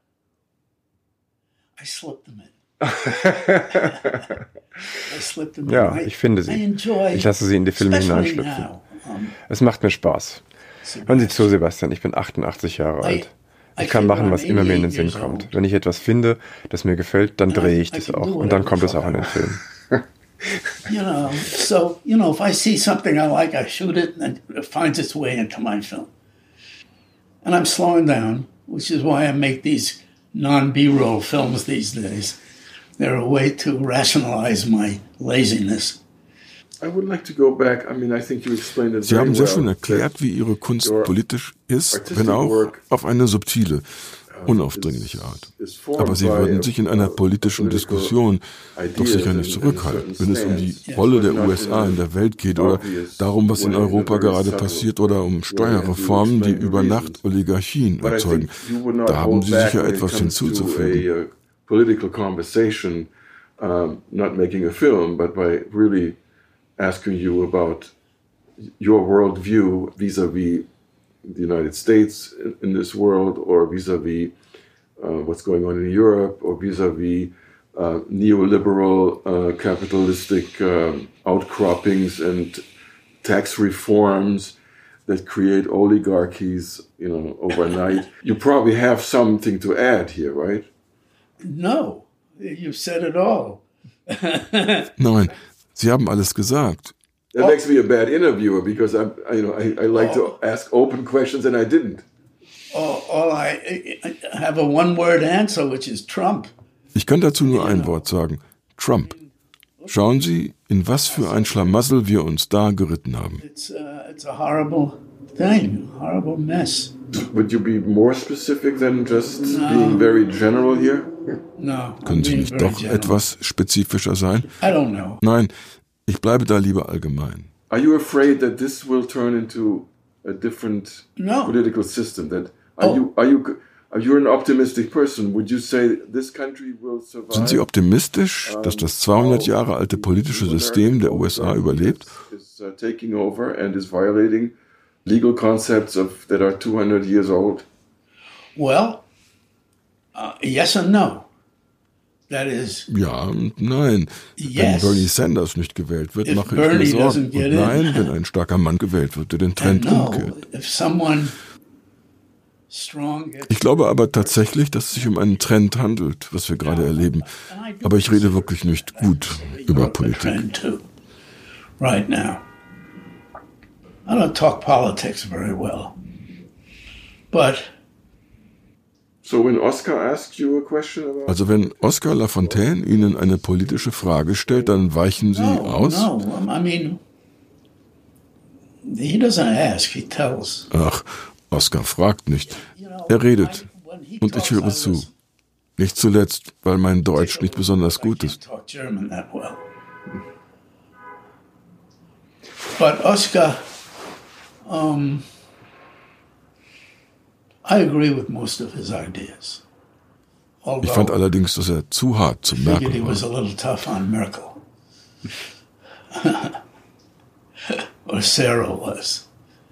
I slipped them in. Ja, ich finde sie. Ich lasse sie in die Filme hineinschlüpfen. Es macht mir Spaß. Hören Sie zu, Sebastian, ich bin 88 Jahre alt. Ich kann machen, was immer mir in den Sinn kommt. Wenn ich etwas finde, das mir gefällt, dann drehe ich das auch. Und dann kommt es auch in den Film. If I see something I like, I shoot it and it finds its way into my film. And I'm slowing down, which is why I make these non-B-roll films these days. They're a way to rationalize my laziness. I would like to go back. I mean, I think you explained it Sie very haben sehr well. schön erklärt, wie Ihre Kunst politisch ist, wenn auch auf eine subtile, unaufdringliche Art. Aber Sie würden sich in einer politischen Diskussion doch sicher nicht zurückhalten, wenn es um die Rolle der USA in der Welt geht oder darum, was in Europa gerade passiert oder um Steuerreformen, die über Nacht Oligarchien erzeugen. Da haben Sie sicher etwas hinzuzufügen. Political conversation, not making a film, but by really asking you about your worldview vis-a-vis the United States in this world, or vis-a-vis what's going on in Europe, or vis-a-vis neoliberal capitalistic outcroppings and tax reforms that create oligarchies, overnight. You probably have something to add here, right? No, you've said it all. Nein, Sie haben alles gesagt. That makes me a bad interviewer because I like to ask open questions and I didn't. I have a one-word answer, which is Trump. Ich kann dazu nur ein Wort sagen: Trump. Schauen Sie, in was für ein Schlamassel wir uns da geritten haben. It's a horrible thing, horrible mess. Would you be more specific than just being very general here? No. Können Sie nicht doch etwas spezifischer sein? I don't know. Nein, ich bleibe da lieber allgemein. Are you afraid that this will turn into a different political system? Are you an optimistic person? Would you say this country will survive? Sind Sie optimistisch, dass das 200 Jahre alte politische System der USA überlebt? Is taking over and is violating legal concepts that are 200 years old? Well, yes and no. That is. Ja und nein. Yes. Wenn Bernie Sanders nicht gewählt wird, mache ich mir Sorgen. Und nein, wenn ein starker Mann gewählt wird, der den Trend umkehrt. Ich glaube aber tatsächlich, dass es sich um einen Trend handelt, was wir gerade erleben. Aber ich rede wirklich nicht gut über Politik. Right now. I don't talk politics very well. But so when Oscar asks you a question about... Also wenn Oscar Lafontaine Ihnen eine politische Frage stellt, dann weichen Sie aus? No, I mean, he doesn't ask, he tells. Ach, Oscar fragt nicht. Er redet. Und ich höre zu. Nicht zuletzt, weil mein Deutsch nicht besonders gut ist. But Oscar, I agree with most of his ideas. Ich fand allerdings, dass er zu hart zu Merkel he was a little tough on Merkel. Or Sarah was.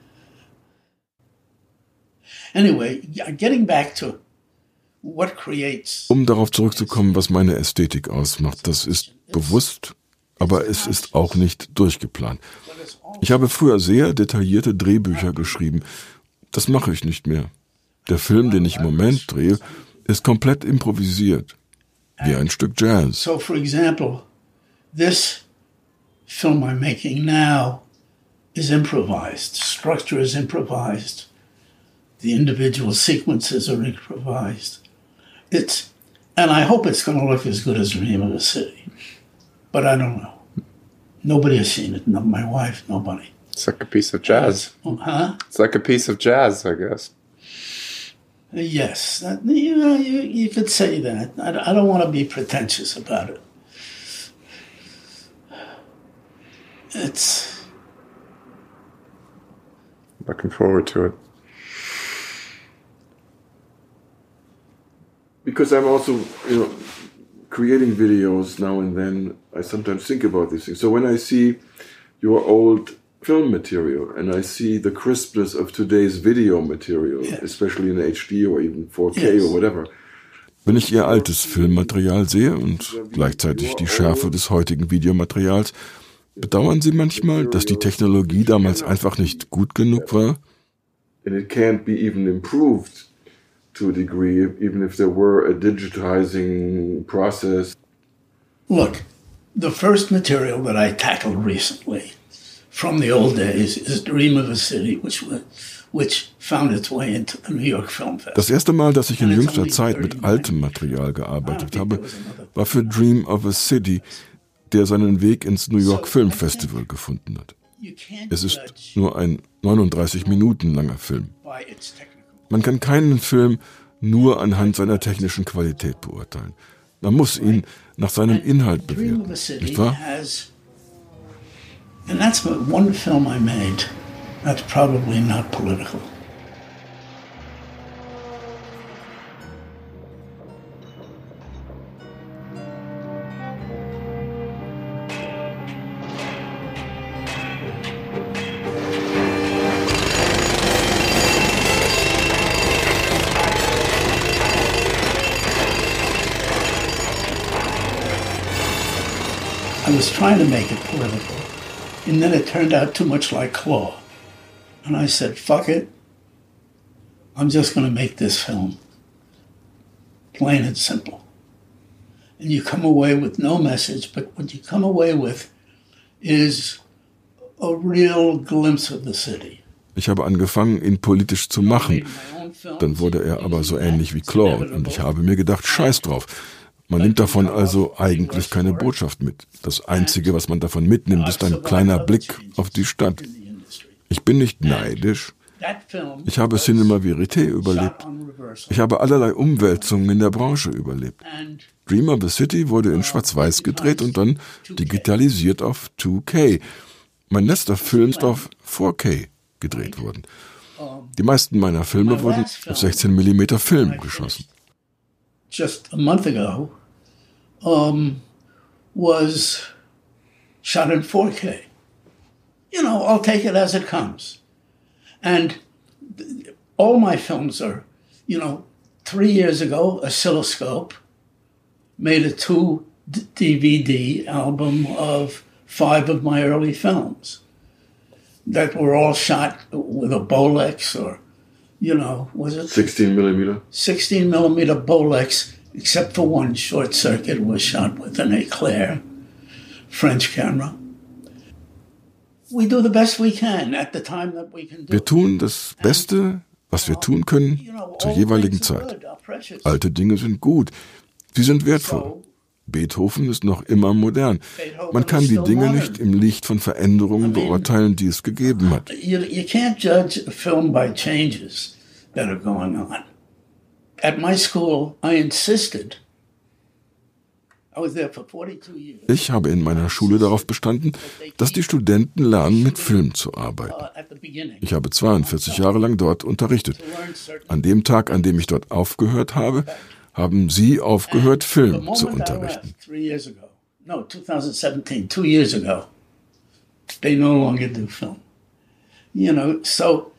Anyway, getting back to what creates... Um darauf zurückzukommen, was meine Ästhetik ausmacht, das ist bewusst, aber es ist auch nicht durchgeplant. Ich habe früher sehr detaillierte Drehbücher geschrieben. Das mache ich nicht mehr. Der Film, den ich im Moment drehe, ist komplett improvisiert, wie ein Stück Jazz. So, for example, this film I'm making now is improvised. Structure is improvised. The individual sequences are improvised. And I hope it's going to look as good as Dream of a City. But I don't know. Nobody has seen it. Not my wife, nobody. It's like a piece of jazz. Huh? It's like a piece of jazz, I guess. Yes. You could say that. I don't want to be pretentious about it. It's... Looking forward to it. Because I'm also, creating videos now and then, I sometimes think about these things. So when I see your old film material and I see the crispness of today's video material, especially in HD or even 4K or whatever. Wenn ich Ihr altes Filmmaterial sehe und gleichzeitig die Schärfe des heutigen Videomaterials, bedauern Sie manchmal, dass die Technologie damals einfach nicht gut genug war? And it can't be even improved to a degree, even if there were a digitizing process. Look, the first material that I tackled recently from the old days is Dream of a City, which found its way into the New York Film Festival. Das erste Mal, dass ich in jüngster Zeit mit altem Material gearbeitet habe, war für Dream of a City, der seinen Weg ins New York Film Festival gefunden hat. Es ist nur ein 39 Minuten langer Film. Man kann keinen Film nur anhand seiner technischen Qualität beurteilen. Man muss ihn nach seinem Inhalt bewerten, nicht wahr? And that's one film I made that's probably not political. I was trying to make it political, and then it turned out too much like Claw. And I said, fuck it. I'm just going to make this film. Plain and simple. And you come away with no message, but what you come away with is a real glimpse of the city. Ich habe angefangen, ihn politisch zu machen. Dann wurde er aber so ähnlich wie Claw. Und ich habe mir gedacht, scheiß drauf. Man nimmt davon also eigentlich keine Botschaft mit. Das Einzige, was man davon mitnimmt, ist ein kleiner Blick auf die Stadt. Ich bin nicht neidisch. Ich habe Cinema Verité überlebt. Ich habe allerlei Umwälzungen in der Branche überlebt. Dream of a City wurde in Schwarz-Weiß gedreht und dann digitalisiert auf 2K. Mein letzter Film ist auf 4K gedreht worden. Die meisten meiner Filme wurden auf 16 mm Film geschossen. Just a month ago, was shot in 4K. I'll take it as it comes. And all my films are, 3 years ago, Oscilloscope made a 2 DVD album of 5 of my early films that were all shot with a Bolex or, was it? 16 millimeter. 16 millimeter Bolex, except for one Short Circuit was shot with an Eclair French camera. We do the best we can at the time that we can do. Wir tun das Beste, was wir tun können, zur jeweiligen Zeit. Alte Dinge sind gut. Sie sind wertvoll. Beethoven ist noch immer modern. Man kann die Dinge nicht im Licht von Veränderungen beurteilen, die es gegeben hat. You can't judge a film by changes that are going on. At my school, I insisted. I was there for 42 years. Ich habe in meiner Schule darauf bestanden, dass die Studenten lernen, mit Film zu arbeiten. Ich habe 42 Jahre lang dort unterrichtet. An dem Tag, an dem ich dort aufgehört habe, haben Sie aufgehört, Film zu unterrichten. 3 years ago. No, 2017, 2 years ago. They no longer do film. So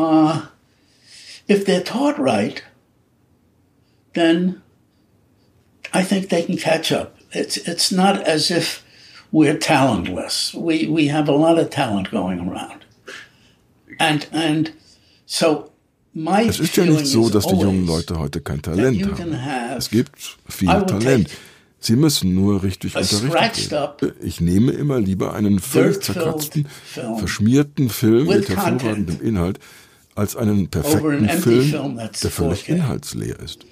if they're taught right, then I think they can catch up. It's not as if we're talentless. We have a lot of talent going around. And so Es ist ja nicht so, dass die jungen Leute heute kein Talent haben. Es gibt viel Talent. Sie müssen nur richtig unterrichtet werden. Ich nehme immer lieber einen völlig zerkratzten, verschmierten Film mit hervorragendem Inhalt, als einen perfekten Film, der völlig inhaltsleer ist.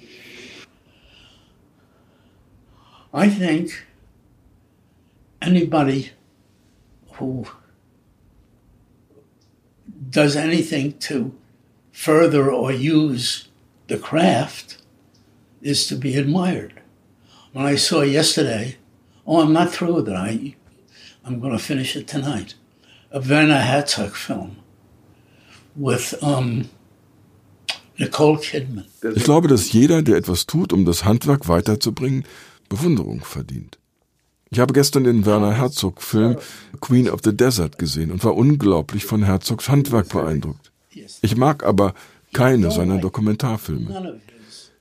I think anybody who does anything to further or use the craft is to be admired. When I saw yesterday, I'm not through with it. I'm going to finish it tonight. A Werner Herzog film with Nicole Kidman. Ich glaube, dass jeder, der etwas tut, um das Handwerk weiterzubringen, Bewunderung verdient. Ich habe gestern den Werner Herzog-Film Queen of the Desert gesehen und war unglaublich von Herzogs Handwerk beeindruckt. Ich mag aber keine seiner Dokumentarfilme. None of his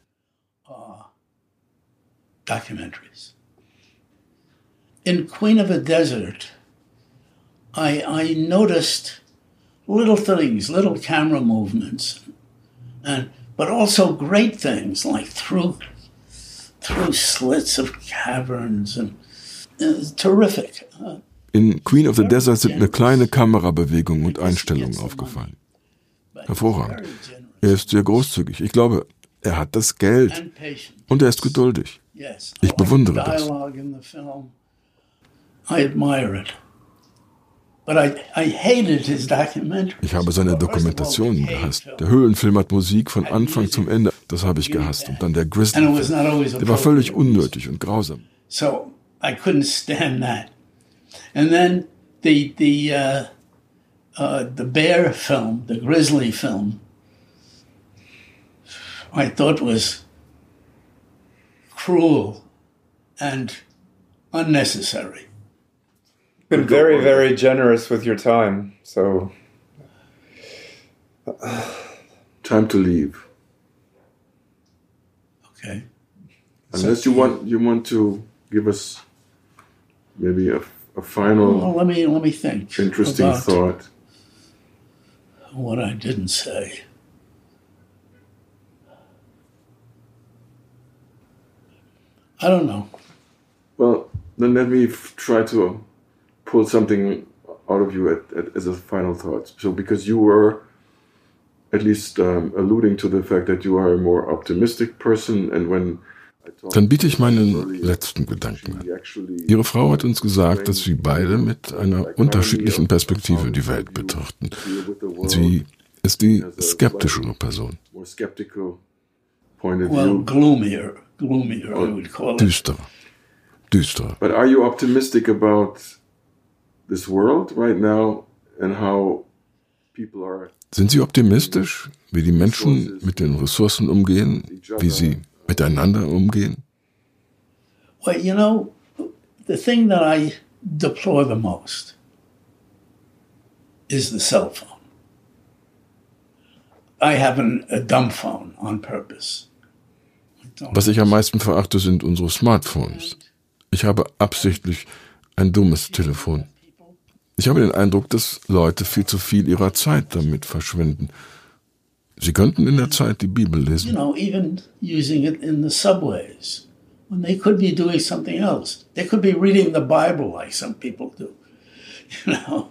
documentaries. In Queen of the Desert, I noticed little things, little camera movements, but also great things like through slits of caverns and terrific. In Queen of the Desert sind mir kleine Kamerabewegungen und Einstellungen aufgefallen. Hervorragend. Er ist sehr großzügig. Ich glaube, er hat das Geld und er ist geduldig. Ich bewundere das. I admire it. But I hated his documentary. Ich habe seine Dokumentationen gehasst. Der Höhlenfilm hat Musik von Anfang zum Ende. Das habe ich gehasst. Und dann der Grizzly-Film. Der war völlig unnötig und grausam. So I couldn't stand that. And then the bear film, the grizzly film, I thought was cruel and unnecessary. Been very, very generous with your time, so time to leave. Okay. Unless you want to give us maybe a final. Well, let me think. Interesting thought. What I didn't say. I don't know. Well, then let me try to pull something out of you as a final thought. So, because you were at least alluding to the fact that you are a more optimistic person, and when Dann biete ich meinen letzten Gedanken an. Ihre Frau hat uns gesagt, dass sie beide mit einer unterschiedlichen Perspektive die Welt betrachten. Sie ist die skeptischere Person. Well, gloomier, I would call it. Düsterer. But are you optimistic about this world right now and how people are? Sind Sie optimistisch, wie die Menschen mit den Ressourcen umgehen, wie sie miteinander umgehen? Well, you know, the thing that I deplore the most is the cell phone. I have a dumb phone on purpose. Was ich am meisten verachte, sind unsere Smartphones. Ich habe absichtlich ein dummes Telefon. Ich habe den Eindruck, dass Leute viel zu viel ihrer Zeit damit verschwenden. Sie könnten in der Zeit die Bibel lesen. You know, even using it in the subways, when they could be doing something else. They could be reading the Bible like some people do. You know,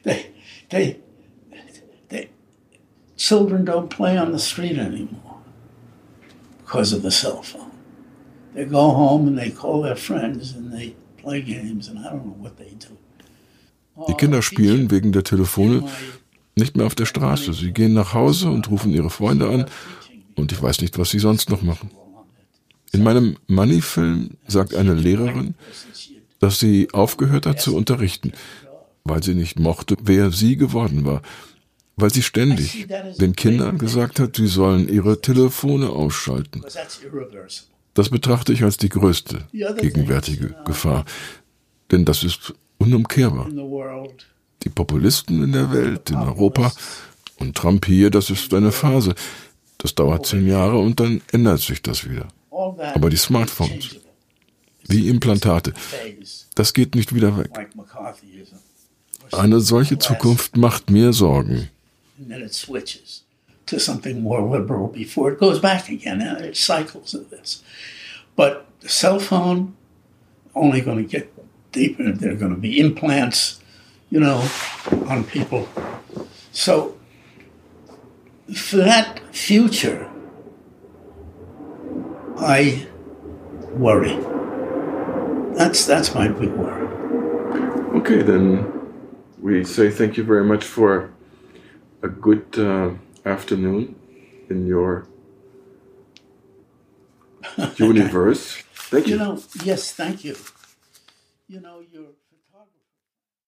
children don't play on the street anymore because of the cell phone. They go home and they call their friends and they play games and I don't know what they do. Die Kinder spielen wegen der Telefone nicht mehr auf der Straße. Sie gehen nach Hause und rufen ihre Freunde an und ich weiß nicht, was sie sonst noch machen. In meinem Money-Film sagt eine Lehrerin, dass sie aufgehört hat zu unterrichten, weil sie nicht mochte, wer sie geworden war. Weil sie ständig den Kindern gesagt hat, sie sollen ihre Telefone ausschalten. Das betrachte ich als die größte gegenwärtige Gefahr. Denn das ist unumkehrbar. Die Populisten in der Welt, in Europa und Trump hier, das ist eine Phase. Das dauert 10 Jahre und dann ändert sich das wieder. Aber die Smartphones, wie Implantate, das geht nicht wieder weg. Eine solche Zukunft macht mir Sorgen. And then it switches to something more liberal before it goes back again. It's cycles of this. But the cell phone, only going to get deeper. There are going to be implants, you know, on people. So for that future, I worry. That's my big worry. Okay, then we say thank you very much for a good afternoon in your universe. Thank you. Yes, thank you. You're